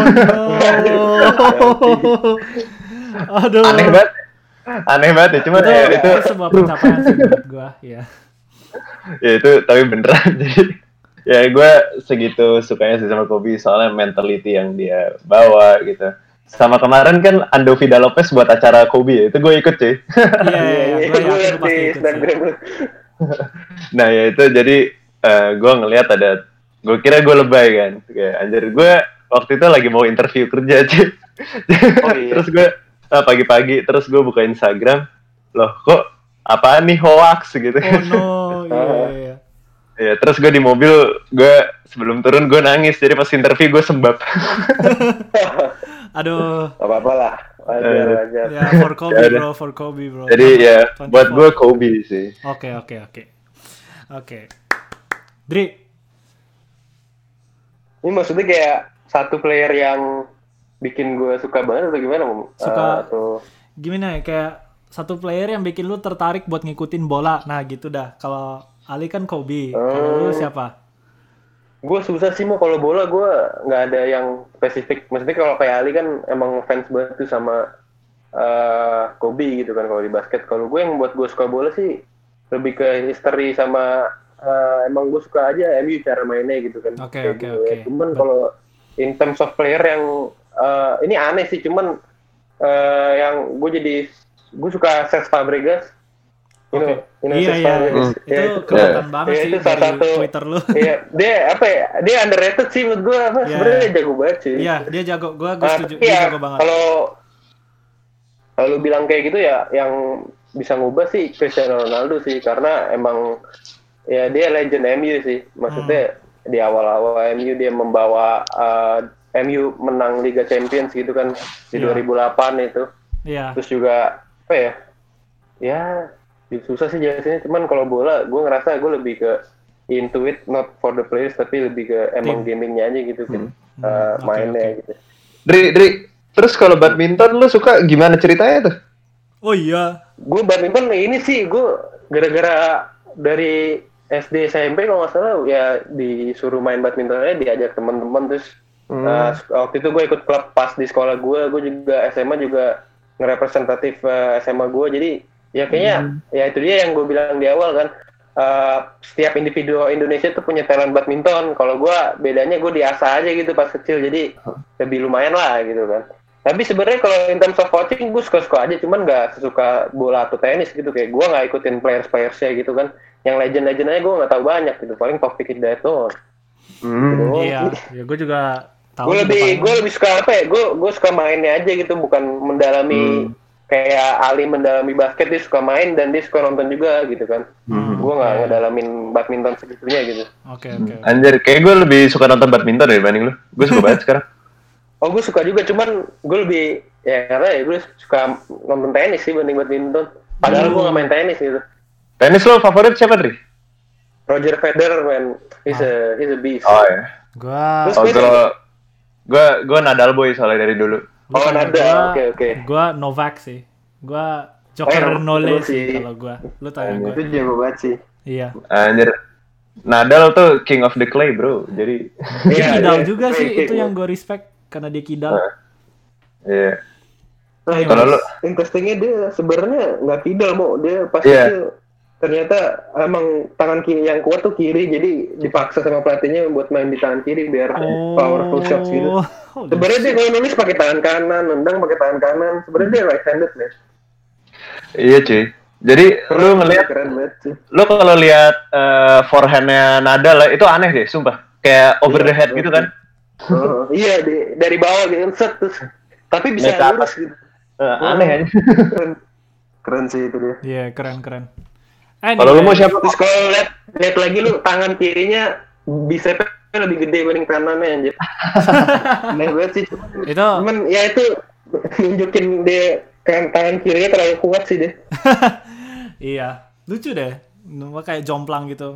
Oh no. Aduh. Aneh banget ya, cuma itu sebuah pencapaian sih buat gue, ya. Ya itu tapi beneran. Jadi ya gue segitu sukanya sih sama Kobe, soalnya mentality yang dia bawa gitu. Sama kemarin kan Ando Vida Lopez buat acara Kobe, itu gue ikut cuy. Iya, gue yakin pasti ikut sih. Nah ya itu jadi gue ngelihat ada, gue kira gue lebay kan, kayak anjir gue waktu itu lagi mau interview kerja cuy. Terus gue pagi-pagi terus gue buka Instagram, loh kok apaan nih, hoax gitu. Oh no, iya. Ya, terus gue di mobil, gue sebelum turun gue nangis, jadi pas interview gue sembab. Aduh. Gak apa-apa lah, wajar. Ya, for Kobe bro. Jadi ya, buat gue Kobe sih. Oke. Dri. Ini maksudnya kayak satu player yang bikin gue suka banget atau gimana? Gimana ya, kayak satu player yang bikin lu tertarik buat ngikutin bola. Nah gitu dah. Kalau Ali kan Kobe. Kalau lu siapa? Gue susah sih mau kalau bola, gue nggak ada yang spesifik. Maksudnya kalau kayak Ali kan emang fans banget tuh sama Kobe gitu kan kalau di basket. Kalau gue yang buat gue suka bola sih lebih ke history sama emang gue suka aja MU cara mainnya gitu kan. Oke. Cuman kalau in terms of player yang ini aneh sih, cuman yang gue suka Cesc Fabregas. Iya. Itu kelihatan banget sih itu salah satu Twitter lu. Iya, dia underrated sih menurut gue. Sebenarnya dia jago banget sih. Iya, dia jago. Gue setuju. Dia jago banget. Kalau lu bilang kayak gitu ya, yang bisa ngubah sih Cristiano Ronaldo sih, karena emang ya dia legend MU sih. Maksudnya di awal-awal MU dia membawa MU menang Liga Champions gitu kan di 2008 itu. Iya. Terus juga apa ya? Ya susah sih jelasinnya, cuman kalau bola gue ngerasa gue lebih ke into it, not for the players, tapi lebih ke emang gamingnya aja gitu kan. Mainnya gitu. Dri, terus kalau badminton lu suka gimana ceritanya tuh? Oh iya. Gue badminton ini sih gue gara-gara dari SD SMP kalau nggak salah ya disuruh main badminton aja, diajak teman-teman. Terus waktu itu gue ikut klub pas di sekolah gue juga SMA juga ngerepresentatif SMA gue, jadi ya kayaknya ya itu dia yang gue bilang di awal kan, setiap individu Indonesia tuh punya talent badminton. Kalau gue bedanya gue diasah aja gitu pas kecil, jadi lebih lumayan lah gitu kan. Tapi sebenarnya kalau in terms of watching gue suka-suka aja, cuman nggak sesuka bola atau tenis gitu. Kayak gue nggak ikutin players-playersnya gitu kan. Yang legend-legend aja gue nggak tahu banyak gitu, paling Taufik Hidayat doang. Iya, ya gue juga tahu. Gue lebih suka apa ya? Gue suka mainnya aja gitu, bukan mendalami. Kayak Ali mendalami basket, dia suka main dan dia suka nonton juga gitu kan. Gue nggak ngedalamin badminton segitunya gitu. Oke. Anjir, kayak gue lebih suka nonton badminton dibanding lu. Gue suka banget sekarang. Oh, gue suka juga, cuman gue lebih ya karena ya gue suka nonton tenis sih banding badminton. Padahal gue nggak main tenis gitu. Tenis lo favorit siapa, Dri? Roger Federer, man. He's a beast. Oh ya. Gue Nadal boy soalnya dari dulu. Oh, Nadal. Oke. Gue Novak sih. Gue Joker Nole sih kalau gue. Lu tanya gue. Itu jago banget sih. Iya. Anjir. Nadal tuh king of the clay, bro. Jadi dia kidal juga sih, itu yang gue respect karena dia kidal. Iya. Kalau lu interestingnya dia sebenarnya nggak kidal, Mo. Dia pas kecil ternyata emang tangan kiri yang kuat tuh kiri, jadi dipaksa sama pelatihnya buat main di tangan kiri biar powerful shots gitu. Sebenarnya dia kalau nulis pakai tangan kanan, nendang pakai tangan kanan. Sebenarnya dia right handed, man. Iya cuy. Jadi lu ngelihat, lu kalau lihat forehandnya Nadal itu aneh deh, sumpah. Kayak over the head gitu kan? Iya, dari bawah gitu, set terus. Tapi bisa lurus gitu. Aneh aja. Keren sih itu dia. Iya, keren. Kalau lu mau siapa? Terus kalau lihat lagi lu tangan kirinya bicepnya lebih gede dibanding kanannya anjir. Aneh banget sih. Cuman ya itu nunjukin dia tangan kirinya terlalu kuat sih deh. Iya, lucu deh. Kayak jomplang gitu.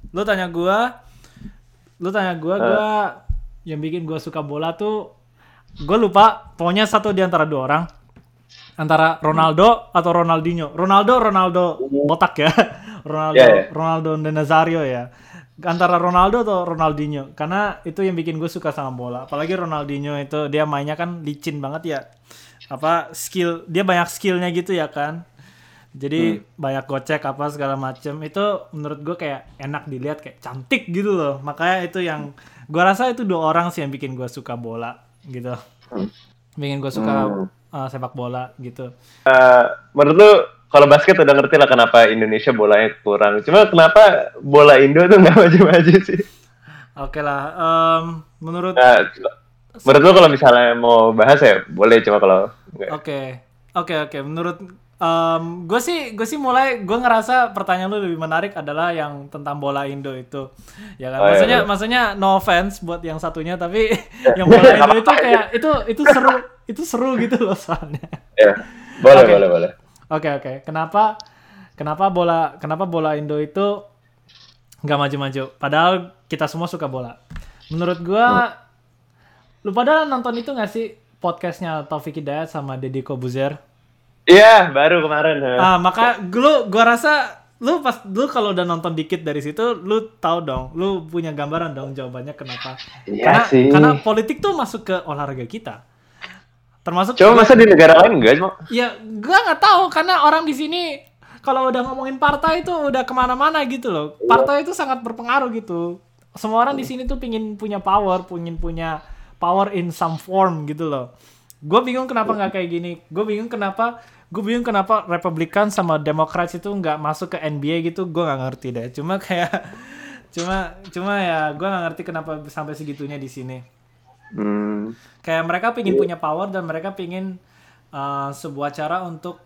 Lu tanya gue yang bikin gue suka bola tuh, gue lupa. Pokoknya satu di antara dua orang, antara Ronaldo atau Ronaldinho. Ronaldo botak ya. Ronaldo dan Nazario ya. Antara Ronaldo atau Ronaldinho, karena itu yang bikin gue suka sama bola. Apalagi Ronaldinho itu dia mainnya kan licin banget ya. Dia banyak skillnya gitu ya kan. Jadi banyak gocek apa segala macem. Itu menurut gue kayak enak dilihat, kayak cantik gitu loh. Makanya itu yang gue rasa itu dua orang sih yang bikin gue suka bola gitu. Bikin gue suka sepak bola gitu. Menurut lu kalau basket udah ngerti lah kenapa Indonesia bolanya kurang. Cuma kenapa bola Indo tuh nggak maju-maju sih? Oke lah. Menurut lu kalau misalnya mau bahas ya boleh, cuma kalau Oke. Menurut gue sih mulai, gue ngerasa pertanyaan lu lebih menarik adalah yang tentang bola Indo itu, ya kan? Maksudnya no offense buat yang satunya, tapi yang bola Indo itu kayak itu seru gitu loh soalnya. Ya, boleh. Oke. Kenapa bola Indo itu nggak maju-maju? Padahal kita semua suka bola. Menurut gue, lu pada nonton itu nggak sih podcastnya Taufik Hidayat sama Deddy Kobuzer? Iya, baru kemarin. Maka gua rasa lu kalau udah nonton dikit dari situ, lu tahu dong, lu punya gambaran dong jawabannya kenapa. Iya karena politik tuh masuk ke olahraga kita. Termasuk coba masa di negara lain enggak cuma? Ya, gua nggak tahu karena orang di sini kalau udah ngomongin partai itu udah kemana-mana gitu loh. Partai itu sangat berpengaruh gitu. Semua orang di sini tuh pingin punya power in some form gitu loh. Gue bingung kenapa nggak kayak gini. Gue bingung kenapa Republikan sama Democrats itu nggak masuk ke NBA gitu. Gue nggak ngerti deh. Cuma ya gue nggak ngerti kenapa sampai segitunya di sini. Kayak mereka pingin punya power dan mereka pingin sebuah cara untuk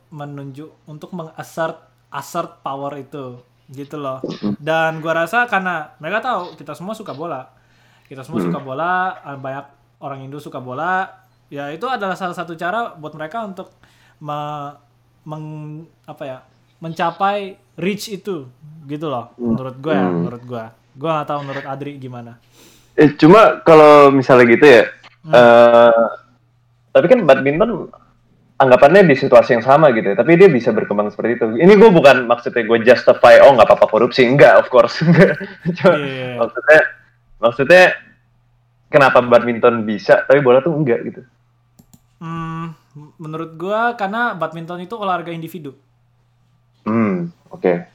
assert power itu gitu loh. Dan gue rasa karena mereka tahu kita semua suka bola, banyak orang Indo suka bola, ya itu adalah salah satu cara buat mereka untuk mencapai reach itu gitu loh. Menurut gue gue nggak tahu menurut Adri gimana. Cuma kalau misalnya gitu ya, tapi kan badminton anggapannya di situasi yang sama gitu ya, tapi dia bisa berkembang seperti itu. Ini gue bukan maksudnya gue justify nggak apa-apa korupsi, enggak, of course. Cuma maksudnya kenapa badminton bisa tapi bola tuh enggak gitu? Menurut gue karena badminton itu olahraga individu. Oke.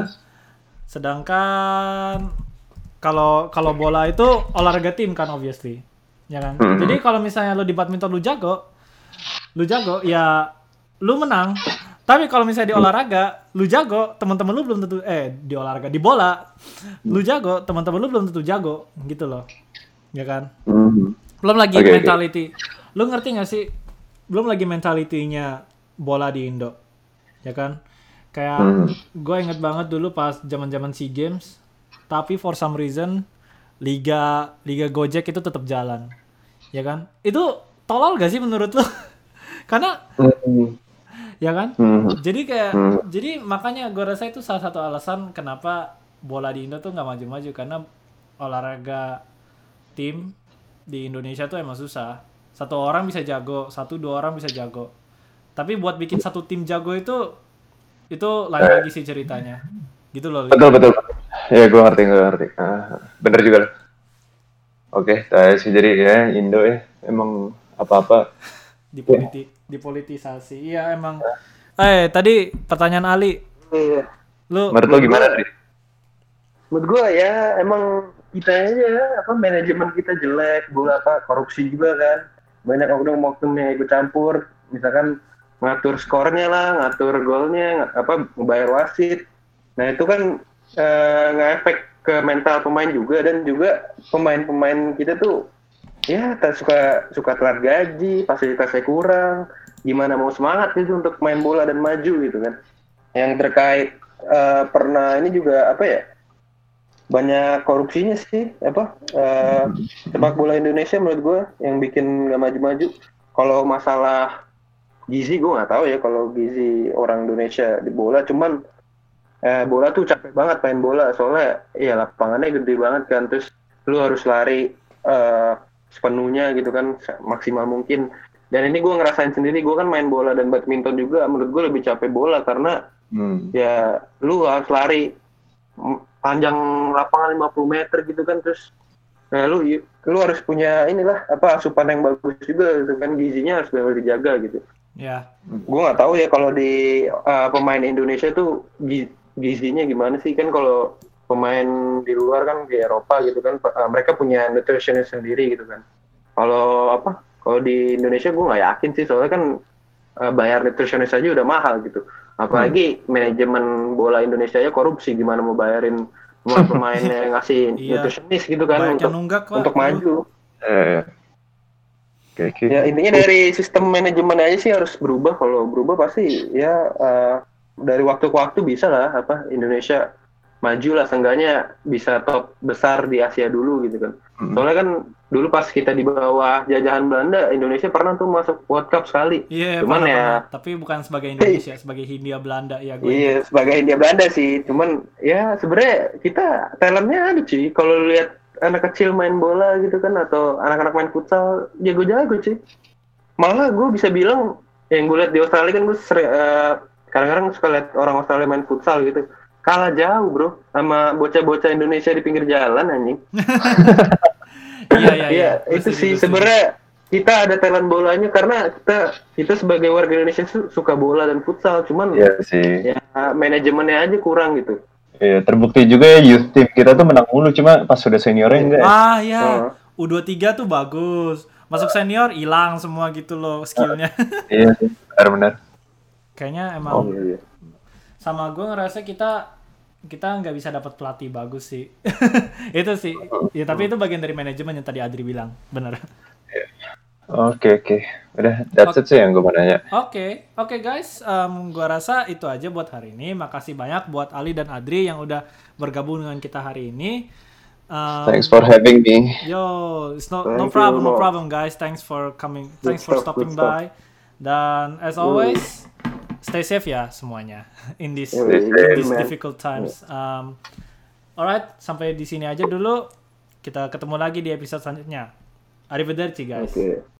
Sedangkan kalau bola itu olahraga tim kan, obviously, ya kan. Jadi kalau misalnya lu di badminton lu jago ya lu menang. Tapi kalau misalnya di olahraga lu jago, teman-teman lu belum tentu di bola lu jago, teman-teman lu belum tentu jago gitu loh, ya kan. Belum lagi mentality. Lu ngerti nggak sih? Belum lagi mentalitinya bola di Indo, ya kan. Kayak gue inget banget dulu pas zaman-zaman SEA Games, tapi for some reason liga Gojek itu tetap jalan, ya kan. Itu tolol gak sih menurut lu? Karena ya kan. Jadi makanya gue rasa itu salah satu alasan kenapa bola di Indo tuh nggak maju-maju, karena olahraga tim di Indonesia tuh emang susah. 1 orang bisa jago, 1-2 orang bisa jago. Tapi buat bikin satu tim jago itu lain lagi sih ceritanya. Gitu loh. Betul. Ya, gue ngerti. Bener juga. Oke, jadi ya Indo ya emang apa-apa dipolitisasi. Iya emang. Tadi pertanyaan Ali. Iya. Menurut lo gimana tadi? Menurut gue ya emang kita aja manajemen kita jelek, bola korupsi juga kan. Banyak oknum-oknum yang ikut campur, misalkan ngatur skornya lah, ngatur golnya, ngebayar wasit. Nah itu kan nge-efek ke mental pemain juga, dan juga pemain-pemain kita tuh ya suka telat gaji, fasilitasnya kurang, gimana mau semangat gitu untuk main bola dan maju gitu kan. Yang terkait pernah ini juga banyak korupsinya sih sepak bola Indonesia menurut gue yang bikin nggak maju-maju. Kalau masalah gizi gue nggak tahu ya kalau gizi orang Indonesia di bola, cuman bola tuh capek banget main bola, soalnya ya lapangannya gede banget kan, terus lu harus lari sepenuhnya gitu kan, maksimal mungkin. Dan ini gue ngerasain sendiri, gue kan main bola dan badminton juga, menurut gue lebih capek bola karena ya lu harus lari panjang lapangan 50 meter gitu kan, terus lu harus punya inilah asupan yang bagus juga gitu kan, gizinya harus benar dijaga gitu. Ya. Gue nggak tahu ya kalau di pemain Indonesia tuh gizinya gimana sih, kan kalau pemain di luar kan di Eropa gitu kan, mereka punya nutritionist sendiri gitu kan. Kalau di Indonesia gue nggak yakin sih, soalnya kan bayar nutritionist aja udah mahal gitu. Apalagi manajemen bola Indonesia ya korupsi, gimana mau bayarin pemain yang ngasih nutritionist gitu kan untuk maju. Ya intinya dari sistem manajemen aja sih harus berubah. Kalau berubah pasti ya dari waktu ke waktu bisa lah Indonesia maju lah, seenggaknya bisa top besar di Asia dulu gitu kan. Soalnya kan dulu pas kita di bawah jajahan Belanda, Indonesia pernah tuh masuk World Cup sekali. Iya, cuman pernah. Tapi bukan sebagai Indonesia, sebagai Hindia Belanda ya gue. Iya, sebagai Hindia Belanda sih. Cuman ya sebenarnya kita talentnya ada sih. Kalau lihat anak kecil main bola gitu kan, atau anak-anak main futsal, jago-jago sih. Malah gue bisa bilang, yang gue lihat di Australia kan, gue kadang-kadang suka lihat orang Australia main futsal gitu, kalah jauh bro sama bocah-bocah Indonesia di pinggir jalan anjing. Iya. Itu sih sebenarnya kita ada talent bolanya karena kita sebagai warga Indonesia suka bola dan futsal, cuman ya manajemennya aja kurang gitu. Iya, terbukti juga ya youth team kita tuh menang mulu, cuma pas sudah seniornya enggak. U23 tuh bagus. Masuk senior hilang semua gitu loh skillnya. Iya sih, benar. Kayaknya emang sama gue ngerasa kita nggak bisa dapat pelatih bagus sih. Itu sih. Ya tapi itu bagian dari manajemen yang tadi Adri bilang, benar. Oke. Udah, that's it sih yang gue mau nanya. Oke guys, gue rasa itu aja buat hari ini. Makasih banyak buat Ali dan Adri yang udah bergabung dengan kita hari ini. Thanks for having me. Yo, it's no problem guys. Thanks for coming. Thanks for stopping by. Dan as always, stay safe ya semuanya in these difficult times. Alright, sampai di sini aja dulu. Kita ketemu lagi di episode selanjutnya. Arrivederci guys.